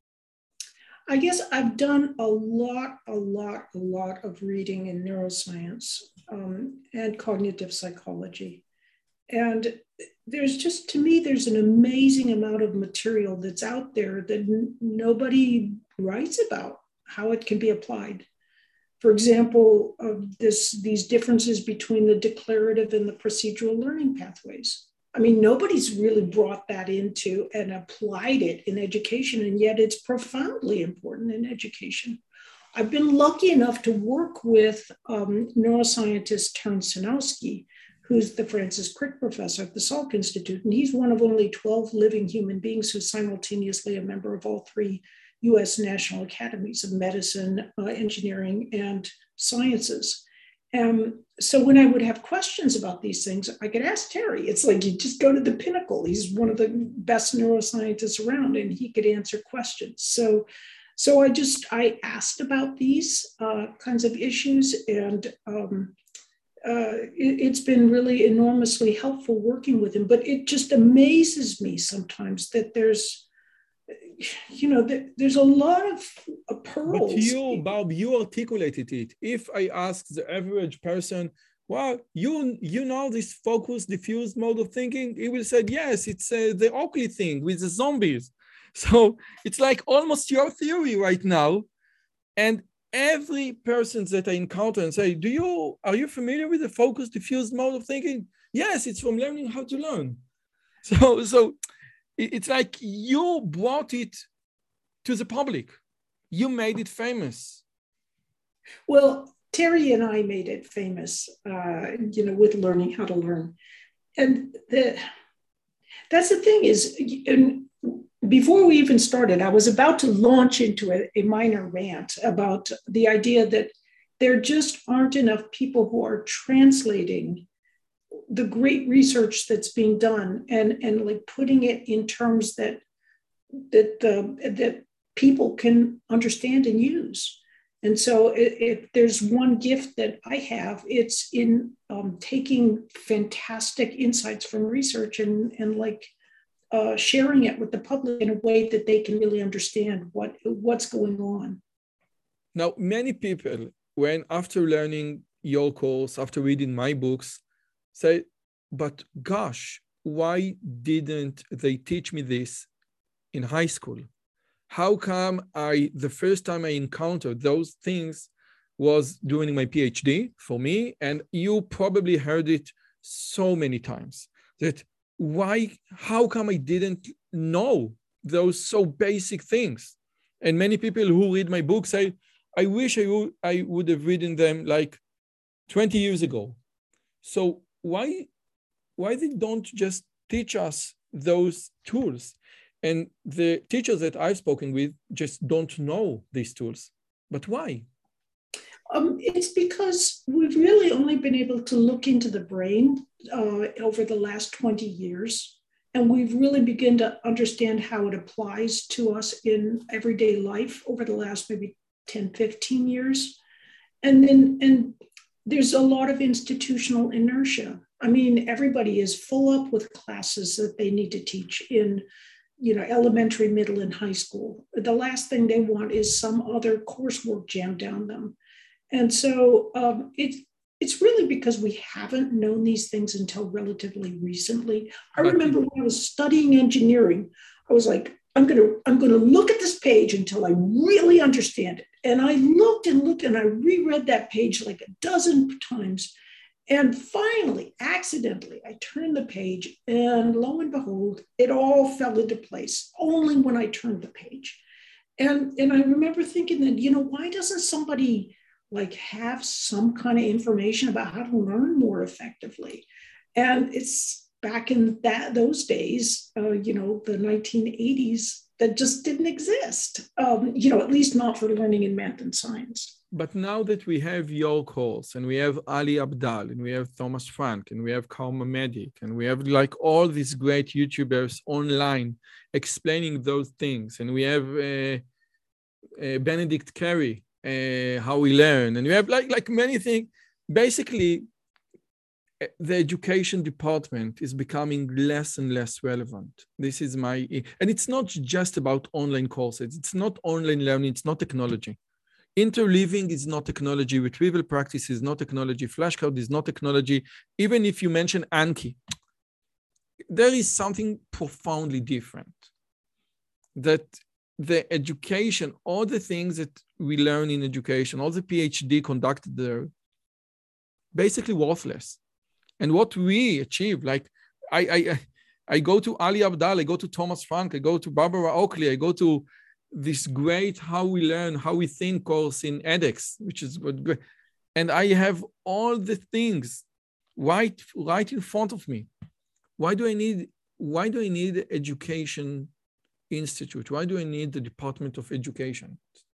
I guess I've done a lot, a lot, a lot of reading in neuroscience um, and cognitive psychology. And there's just, to me, there's an amazing amount of material that's out there that n- nobody writes about how it can be applied. For example, uh, this, these differences between the declarative and the procedural learning pathways. I mean, nobody's really brought that into and applied it in education, and yet it's profoundly important in education. I've been lucky enough to work with um, neuroscientist Terence Sinowski, who's the Francis Crick professor at the Salk Institute, and he's one of only twelve living human beings who's simultaneously a member of all three U S National Academies of Medicine, uh, Engineering, and Sciences. Um, so when I would have questions about these things, I could ask Terry. It's like you just go to the pinnacle. He's one of the best neuroscientists around, and he could answer questions. So, so I just, I asked about these uh, kinds of issues, and um, uh, it, it's been really enormously helpful working with him. But it just amazes me sometimes that there's, you know, there's a lot of uh, pearls. But you, Bob, you articulated it. If I ask the average person, well, you you know this focused, diffused mode of thinking, he will say, yes, it's uh, the Oakley thing with the zombies. So it's like almost your theory right now. And every person that I encounter and say, do you, are you familiar with the focused, diffused mode of thinking? Yes, it's from learning how to learn. So, so it's like you brought it to the public. You made it famous. Well, Terry and I made it famous, uh, you know, with learning how to learn. And the, that's the thing is, and before we even started, I was about to launch into a, a minor rant about the idea that there just aren't enough people who are translating the great research that's being done and, and like putting it in terms that that uh, that people can understand and use. And so if, if there's one gift that I have, it's in um, taking fantastic insights from research and, and like uh, sharing it with the public in a way that they can really understand what, what's going on. Now, many people, when after learning your course, after reading my books, say, but gosh, why didn't they teach me this in high school? How come I, the first time I encountered those things was during my PhD for me, and you probably heard it so many times, that why, how come I didn't know those so basic things? And many people who read my book say, I wish I would, I would have written them like twenty years ago. So why, why they don't just teach us those tools? And the teachers that I've spoken with just don't know these tools. But why? Um, it's because we've really only been able to look into the brain uh, over the last twenty years. And we've really begun to understand how it applies to us in everyday life over the last maybe ten, fifteen years. And then, and there's a lot of institutional inertia. I mean, everybody is full up with classes that they need to teach in, you know, elementary, middle, and high school. The last thing they want is some other coursework jammed down them. And so um, it's it's really because we haven't known these things until relatively recently. I remember when I was studying engineering, I was like, I'm gonna I'm gonna look at this page until I really understand it. And I looked and looked and I reread that page like a dozen times. And finally, accidentally, I turned the page and lo and behold, it all fell into place only when I turned the page. And, and I remember thinking that, you know, why doesn't somebody like have some kind of information about how to learn more effectively? And it's back in that those days, uh, you know, the nineteen eighties, that just didn't exist, um, you know, at least not for learning in math and science. But now that we have your course, and we have Ali Abdaal, and we have Thomas Frank, and we have Karma Medic, and we have like all these great YouTubers online explaining those things, and we have uh, uh, Benedict Carey, uh, how we learn, and we have like like many things. Basically, the education department is becoming less and less relevant. This is my, and it's not just about online courses. It's not online learning. It's not technology. Interleaving is not technology. Retrieval practice is not technology. Flashcard is not technology. Even if you mention Anki, there is something profoundly different. That the education, all the things that we learn in education, all the PhD conducted there, basically worthless. And what we achieve, like I, I, I go to Ali Abdaal, I go to Thomas Frank, I go to Barbara Oakley, I go to this great How We Learn, How We Think course in edX, which is great. And I have all the things right, right in front of me. Why do I need, why do I need education institute? Why do I need the Department of Education?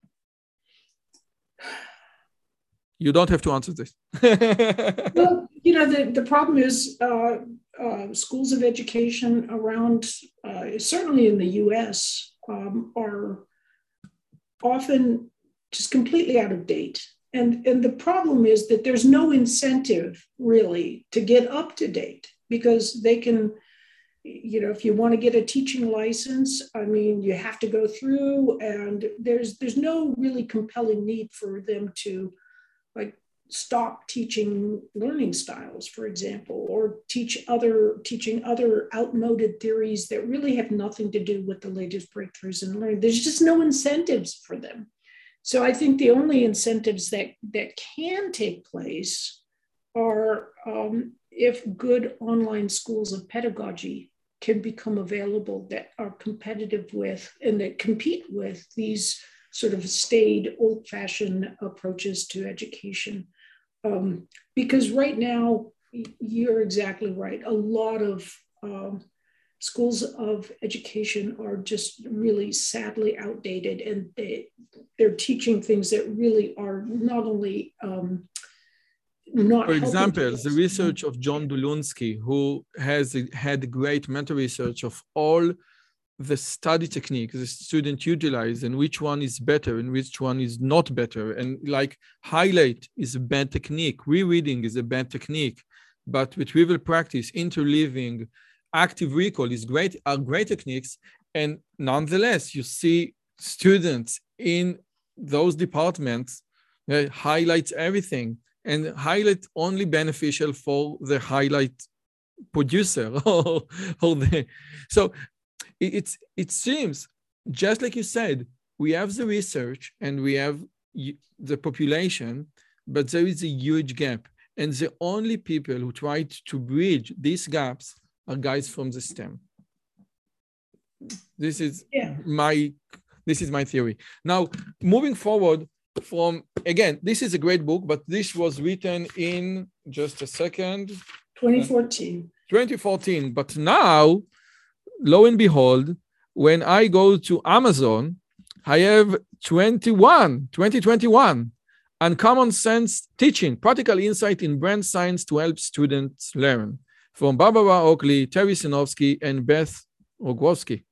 You don't have to answer this. Well, you know, the, the problem is uh, uh, schools of education around, uh, certainly in the U S, um, are often just completely out of date. And, and the problem is that there's no incentive really to get up to date, because they can, you know, if you want to get a teaching license, I mean, you have to go through, and there's there's no really compelling need for them to like stop teaching learning styles, for example, or teach other teaching other outmoded theories that really have nothing to do with the latest breakthroughs in learning. There's just no incentives for them. So I think the only incentives that, that can take place are um, if good online schools of pedagogy can become available that are competitive with and that compete with these sort of staid, old-fashioned approaches to education. Um, because right now, you're exactly right. A lot of um, schools of education are just really sadly outdated, and they, they're teaching things that really are not only um, not. For example, the research of John Dulonsky, who has had great meta-research of all the study techniques the student utilize, and which one is better and which one is not better. And like highlight is a bad technique, rereading is a bad technique, but retrieval practice, interleaving, active recall is great, are great techniques. And nonetheless, you see students in those departments uh, highlights everything, and highlight only beneficial for the highlight producer or, or the, so It's, it seems just like you said, we have the research and we have the population, but there is a huge gap. And the only people who tried to bridge these gaps are guys from the STEM. This is yeah. my this is my theory. Now, moving forward from, again, this is a great book, but this was written in just a second. twenty fourteen. twenty fourteen. But now, lo and behold, when I go to Amazon, I have twenty-one, twenty twenty-one. Uncommon Sense Teaching, Practical Insight in Brand Science to Help Students Learn, from Barbara Oakley, Terry Sinofsky, and Beth Rogowski.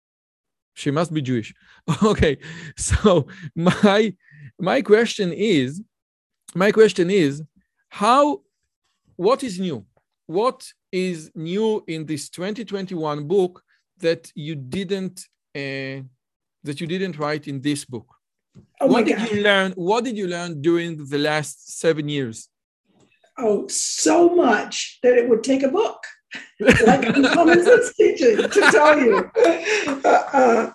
She must be Jewish. Okay, so my, my question is, my question is, how, what is new? What is new in this twenty twenty-one book that you didn't, uh, that you didn't write in this book? Oh what did God. you learn? What did you learn during the last seven years? Oh, so much that it would take a book, like Uncommon Sense Teaching, to tell you. Uh, uh,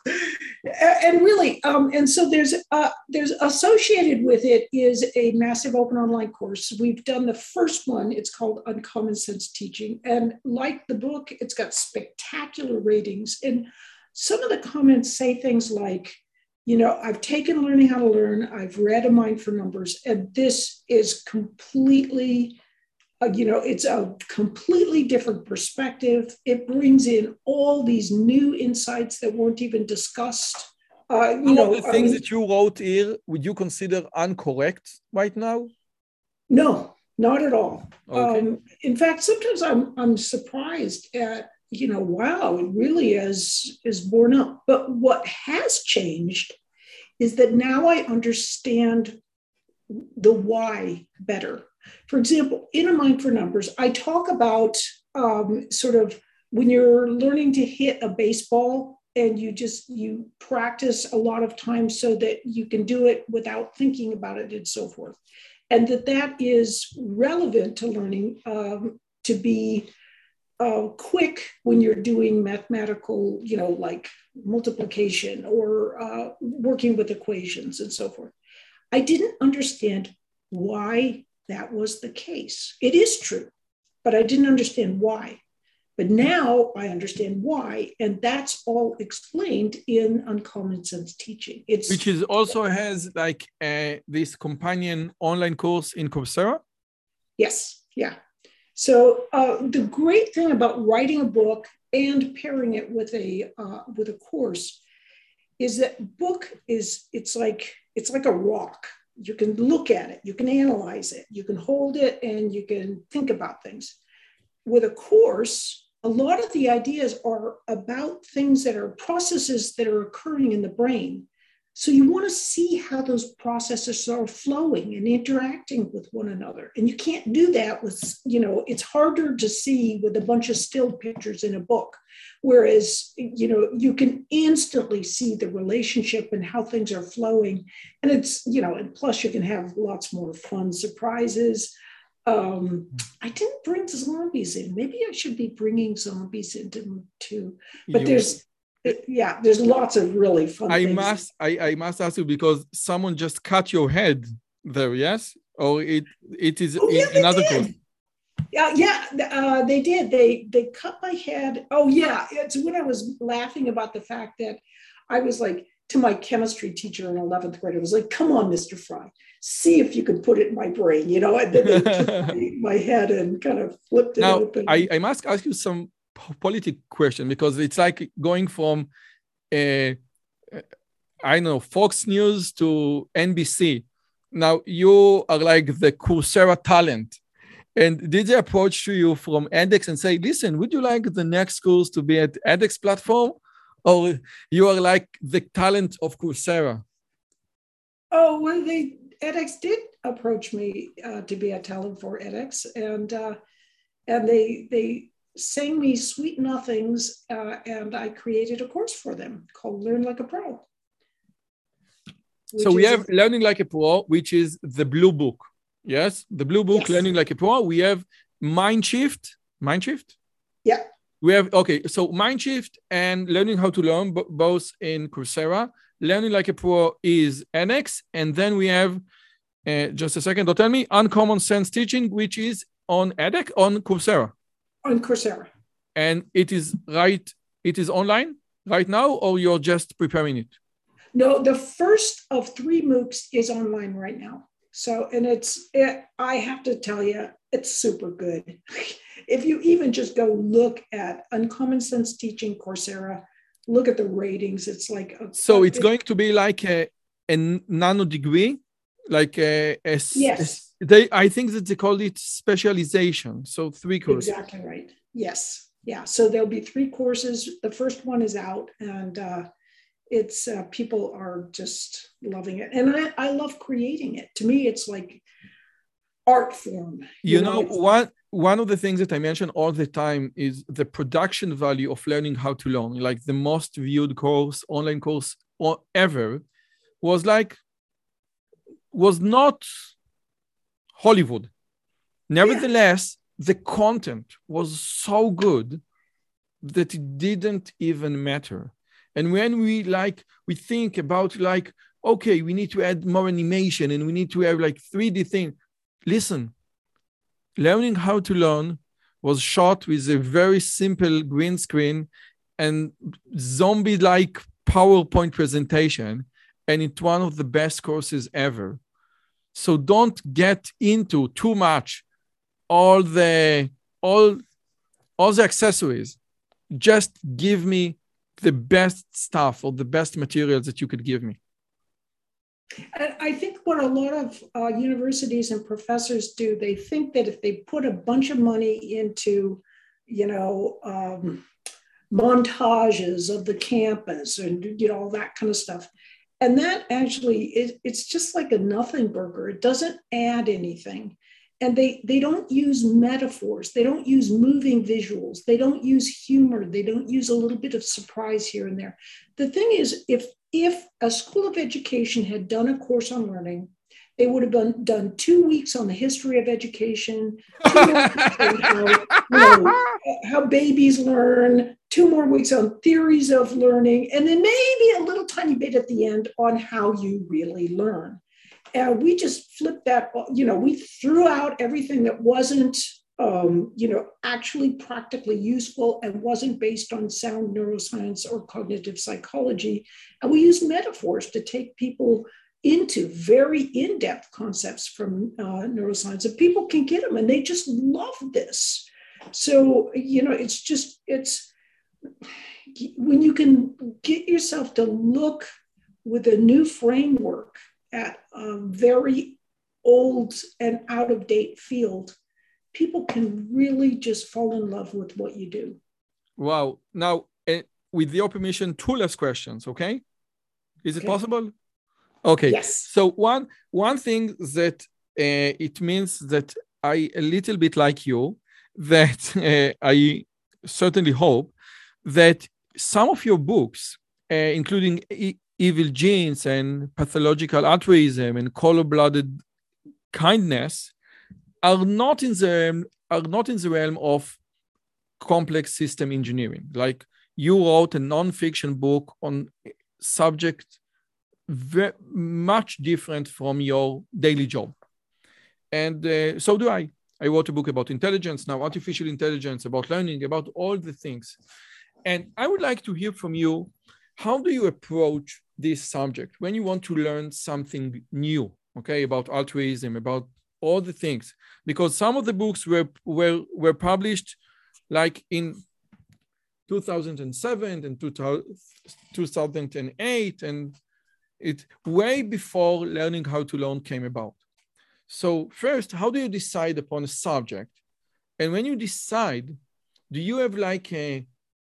and really, um, and so there's uh, there's associated with it is a massive open online course. We've done the first one. It's called Uncommon Sense Teaching, and like the book, it's got spectacular ratings. And some of the comments say things like, you know, I've taken Learning How to Learn, I've read A Mind for Numbers, and this is completely, uh, you know, it's a completely different perspective. It brings in all these new insights that weren't even discussed. Uh, you Some know, of the things um, that you wrote here, would you consider incorrect right now? No, not at all. Okay. Um, in fact, sometimes I'm I'm surprised at, you know, wow, it really is, is borne up. But what has changed is that now I understand the why better. For example, in A Mind for Numbers, I talk about um, sort of when you're learning to hit a baseball and you just, you practice a lot of times so that you can do it without thinking about it and so forth. And that that is relevant to learning um, to be Uh, quick when you're doing mathematical, you know, like multiplication or uh, working with equations and so forth. I didn't understand why that was the case. It is true, but I didn't understand why. But now I understand why, and that's all explained in Uncommon Sense Teaching. It's Which is also has like uh, this companion online course in Coursera? Yes, yeah. So uh, the great thing about writing a book and pairing it with a uh, with a course is that book is it's like it's like a rock. You can look at it, you can analyze it, you can hold it, and you can think about things. With a course, a lot of the ideas are about things that are processes that are occurring in the brain. So you want to see how those processes are flowing and interacting with one another. And you can't do that with, you know, it's harder to see with a bunch of still pictures in a book. Whereas, you know, you can instantly see the relationship and how things are flowing. And it's, you know, and plus you can have lots more fun surprises. Um, I didn't bring zombies in. Maybe I should be bringing zombies into them too. But You- there's, yeah, there's lots of really fun I things. must I, I must ask you because someone just cut your head there, yes? Or it it is Oh, yeah, in they another did. course. Yeah, yeah, uh, they did. They they cut my head. Oh yeah, it's when I was laughing about the fact that I was like to my chemistry teacher in eleventh grade. I was like, "Come on, Mister Fry, see if you can put it in my brain," you know. And then they took my, my head and kind of flipped it Now open. I, I must ask you some politic question because it's like going from uh, I don't know Fox News to N B C. Now you are like the Coursera talent. And did they approach to you from edX and say, listen, would you like the next course to be at edX platform? Or you are like the talent of Coursera? Oh, well, they edX did approach me uh, to be a talent for edX, and uh, and they they sang me sweet nothings, uh, and I created a course for them called Learn Like a Pro. So we have a, Learning Like a Pro, which is the blue book. Yes, the blue book, yes. Learning Like a Pro. We have Mindshift. Mindshift? Yeah. We have, okay, so Mindshift and Learning How to Learn, b- both in Coursera. Learning Like a Pro is edX. And then we have, uh, just a second, don't tell me, Uncommon Sense Teaching, which is on edX, on Coursera. On Coursera. And it is right, it is online right now, or you're just preparing it? No, the first of three MOOCs is online right now. So, and it's, it, I have to tell you, it's super good. If you even just go look at Uncommon Sense Teaching Coursera, look at the ratings. It's like a, so a, it's it, going to be like a, a nano degree, like a, a, yes. a they. I think that they call it specialization. So three courses. Exactly right. Yes, yeah. So there'll be three courses. The first one is out, and uh, it's uh, people are just loving it, and I, I love creating it. To me, it's like art form. You, you know, know one one of the things that I mention all the time is the production value of learning how to learn. Like the most viewed course, online course or ever, was like was not Hollywood. Nevertheless, yeah. the content was so good that it didn't even matter. And when we like we think about like, okay, we need to add more animation and we need to have like three D thing. Listen, Learning How to Learn was shot with a very simple green screen and zombie-like PowerPoint presentation, and it's one of the best courses ever. So don't get into too much all the all all the accessories. Just give me the best stuff or the best materials that you could give me. And I think what a lot of uh, universities and professors do, they think that if they put a bunch of money into, you know, um, montages of the campus and, you know, all that kind of stuff, and that actually, it, it's just like a nothing burger. It doesn't add anything. And they, they don't use metaphors. They don't use moving visuals. They don't use humor. They don't use a little bit of surprise here and there. The thing is, if if a school of education had done a course on learning, they would have done, done two weeks on the history of education, two more weeks on how, you know, how babies learn, two more weeks on theories of learning, and then maybe a little tiny bit at the end on how you really learn. And we just flipped that, you know, we threw out everything that wasn't, um, you know, actually practically useful and wasn't based on sound neuroscience or cognitive psychology. And we used metaphors to take people into very in-depth concepts from uh, neuroscience. And people can get them, and they just love this. So, you know, it's just, it's, when you can get yourself to look with a new framework at a very old and out-of-date field, people can really just fall in love with what you do. Wow. Now, uh, with your permission, two last questions, okay? Is it okay. possible? Okay. Yes. So one, one thing that uh, it means that I a little bit like you, that uh, I certainly hope that some of your books, uh, including e- Evil Genes and Pathological Altruism and Cold-Blooded Kindness, are not in the are not in the realm of complex system engineering. Like you wrote a non-fiction book on subject very much different from your daily job, and uh, so do I. I wrote a book about intelligence, now artificial intelligence, about learning, about all the things. And I would like to hear from you, how do you approach this subject when you want to learn something new, okay, about altruism, about all the things? Because some of the books were were, were published like in two thousand seven and two thousand eight, and it way before Learning How to Learn came about. So first, how do you decide upon a subject? And when you decide, do you have like a,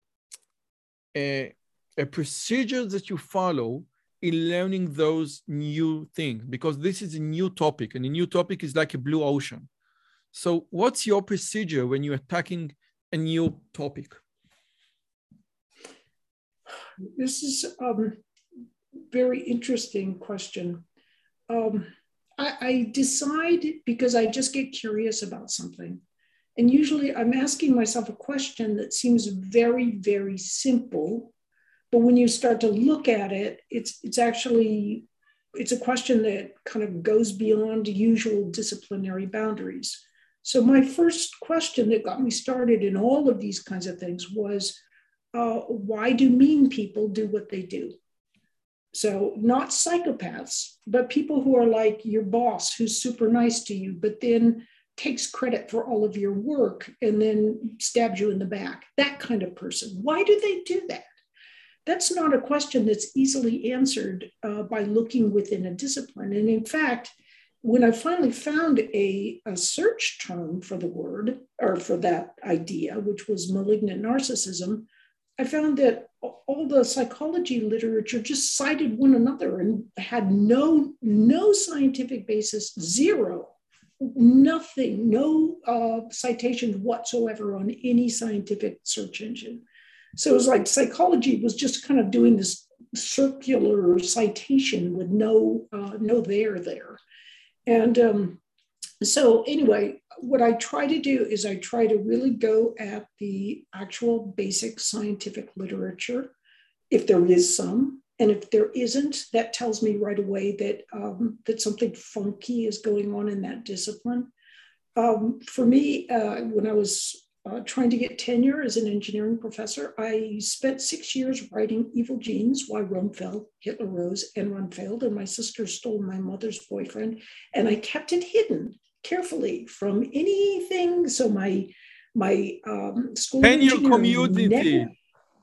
a, a procedure that you follow in learning those new things? Because this is a new topic, and a new topic is like a blue ocean. So what's your procedure when you're attacking a new topic? This is a very interesting question. Um, I, I decide because I just get curious about something. And usually I'm asking myself a question that seems very, very simple. But when you start to look at it, it's, it's actually, it's a question that kind of goes beyond usual disciplinary boundaries. So my first question that got me started in all of these kinds of things was, uh, why do mean people do what they do? So not psychopaths, but people who are like your boss who's super nice to you, but then takes credit for all of your work and then stabs you in the back. That kind of person. Why do they do that? That's not a question that's easily answered uh, by looking within a discipline. And in fact, when I finally found a, a search term for the word or for that idea, which was malignant narcissism, I found that all the psychology literature just cited one another and had no, no scientific basis, zero, nothing, no uh, citations whatsoever on any scientific search engine. So it was like psychology was just kind of doing this circular citation with no, uh, no there there. And um, so anyway, what I try to do is I try to really go at the actual basic scientific literature, if there is some. And if there isn't, that tells me right away that, um, that something funky is going on in that discipline. Um, for me, uh, when I was uh, trying to get tenure as an engineering professor, I spent six years writing Evil Genes, Why Rome Fell, Hitler Rose, Enron Failed, and my sister stole my mother's boyfriend, and I kept it hidden carefully from anything. So my my um, school and your engineering community. Never,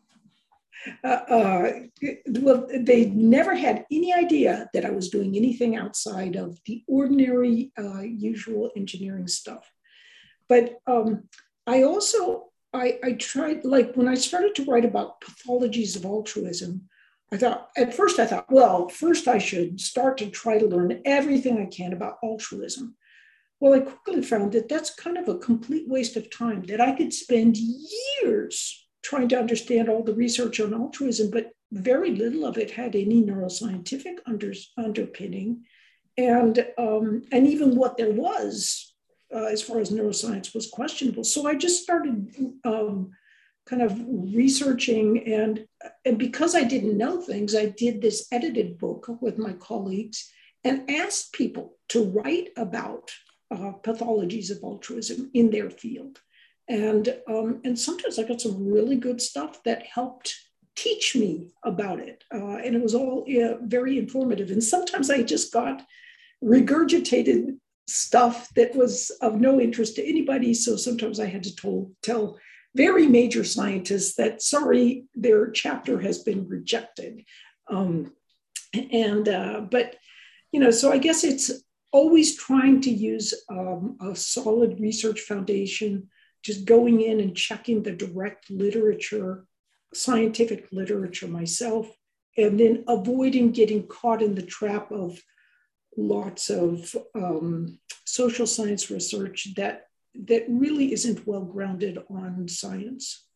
uh, uh, well, they never had any idea that I was doing anything outside of the ordinary, uh, usual engineering stuff. But um, I also, I, I tried, like when I started to write about pathologies of altruism, I thought, at first I thought, well, first I should start to try to learn everything I can about altruism. Well, I quickly found that that's kind of a complete waste of time, that I could spend years trying to understand all the research on altruism, but very little of it had any neuroscientific under, underpinning. And, um, and even what there was, uh, as far as neuroscience, was questionable. So I just started um, kind of researching, and, and because I didn't know things, I did this edited book with my colleagues and asked people to write about uh, pathologies of altruism in their field. And, um, and sometimes I got some really good stuff that helped teach me about it. Uh, and it was all uh, very informative. And sometimes I just got regurgitated stuff that was of no interest to anybody. So sometimes I had to tell, tell very major scientists that, sorry, their chapter has been rejected. Um, and, uh, but, you know, so I guess it's always trying to use um, a solid research foundation, just going in and checking the direct literature, scientific literature myself, and then avoiding getting caught in the trap of lots of um, social science research that, that really isn't well grounded on science.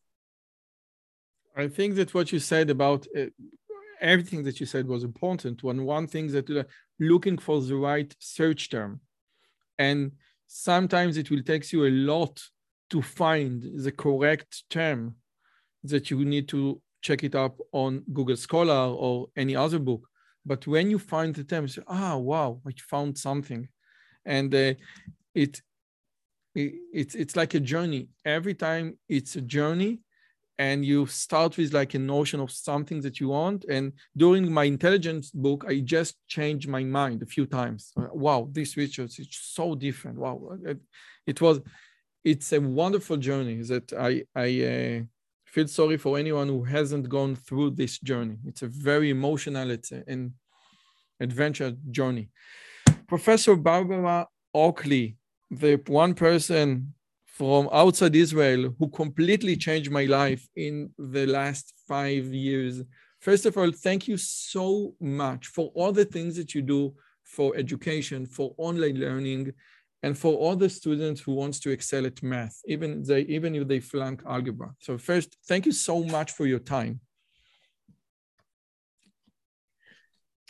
I think that what you said about uh, everything that you said was important. One, one thing that uh, looking for the right search term. And sometimes it will take you a lot to find the correct term that you need to check it up on Google Scholar or any other book. But when you find the term, you say, ah, wow, I found something. And uh, it, it it's, it's like a journey. Every time it's a journey, and you start with like a notion of something that you want. And during my intelligence book, I just changed my mind a few times. Wow, this research is so different. Wow, it, it was, it's a wonderful journey that I, I uh, feel sorry for anyone who hasn't gone through this journey. It's a very emotional, it's an adventure journey. Professor Barbara Oakley, the one person from outside Israel who completely changed my life in the last five years. First of all, thank you so much for all the things that you do for education, for online learning, and for all the students who wants to excel at math, even, they, even if they flunk algebra. So first, thank you so much for your time.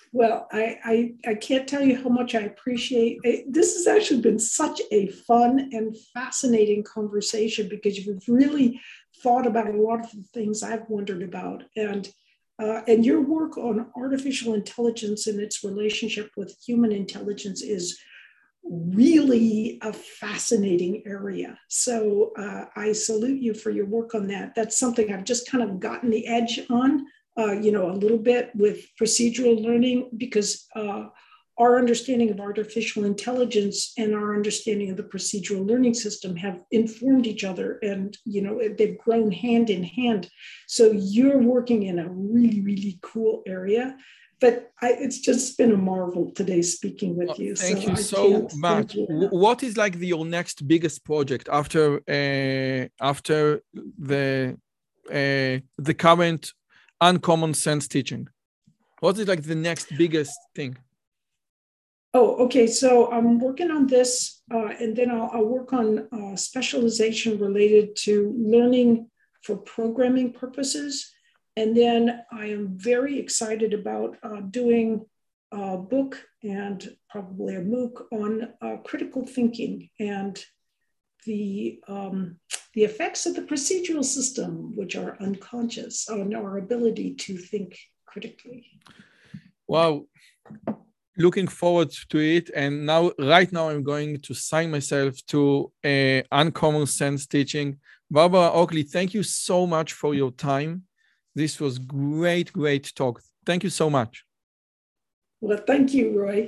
Well, I, I, I can't tell you how much I appreciate it. This has actually been such a fun and fascinating conversation because you've really thought about a lot of the things I've wondered about. And, uh, and your work on artificial intelligence and its relationship with human intelligence is really a fascinating area. So uh, I salute you for your work on that. That's something I've just kind of gotten the edge on. Uh, you know, a little bit with procedural learning because uh, our understanding of artificial intelligence and our understanding of the procedural learning system have informed each other and, you know, they've grown hand in hand. So you're working in a really, really cool area. But I, it's just been a marvel today speaking with you. Oh, thank so you I so much. You. What is like the, your next biggest project after uh, after the uh, the current uncommon sense teaching? What is like the next biggest thing? Oh, okay. So I'm working on this, uh, and then I'll, I'll work on uh, specialization related to learning for programming purposes. And then I am very excited about uh, doing a book and probably a MOOC on uh, critical thinking and the um, the effects of the procedural system, which are unconscious, on our ability to think critically. Wow. Looking forward to it. And now, right now, I'm going to sign myself to uh, Uncommon Sense Teaching. Barbara Oakley, thank you so much for your time. This was great, great talk. Thank you so much. Well, thank you, Roy.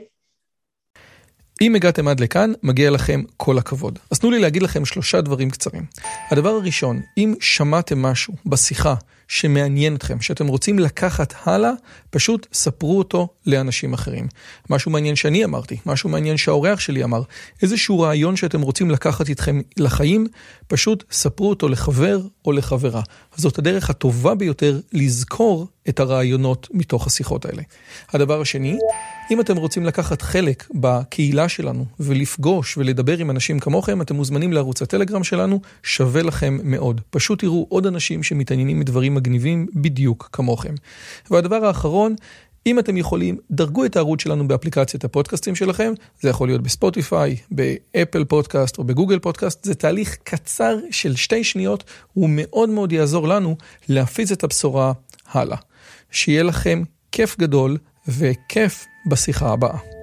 אם הגעתם עד לכאן, מגיע לכם כל הכבוד. אז תנו לי להגיד לכם שלושה דברים קצרים. הדבר הראשון, אם שמעתם משהו בשיחה שמעניין אתכם, שאתם רוצים לקחת הלאה, פשוט ספרו אותו לאנשים אחרים. משהו מעניין שאני אמרתי, משהו מעניין שהאורח שלי אמר, איזשהו רעיון שאתם רוצים לקחת איתכם לחיים, פשוט ספרו אותו לחבר או לחברה. זאת הדרך הטובה ביותר לזכור את הרעיונות מתוך השיחות האלה. הדבר השני, אם אתם רוצים לקחת חלק בקהילה שלנו ולפגוש ולדבר עם אנשים כמוכם, אתם מוזמנים לערוץ הטלגרם שלנו, שווה לכם מאוד. פשוט תראו עוד אנשים שמתעניינים מדברים מגניבים בדיוק כמוכם. והדבר האחרון, אם אתם יכולים, דרגו את הערוץ שלנו באפליקציית הפודקאסטים שלכם, זה יכול להיות בספוטיפיי, באפל פודקאסט או בגוגל פודקאסט, זה תהליך קצר של שתי שניות, הוא מאוד מאוד יעזור לנו להפיץ את הבשורה הלאה. שיהיה לכם כיף גדול וכיף בשיחה הבאה.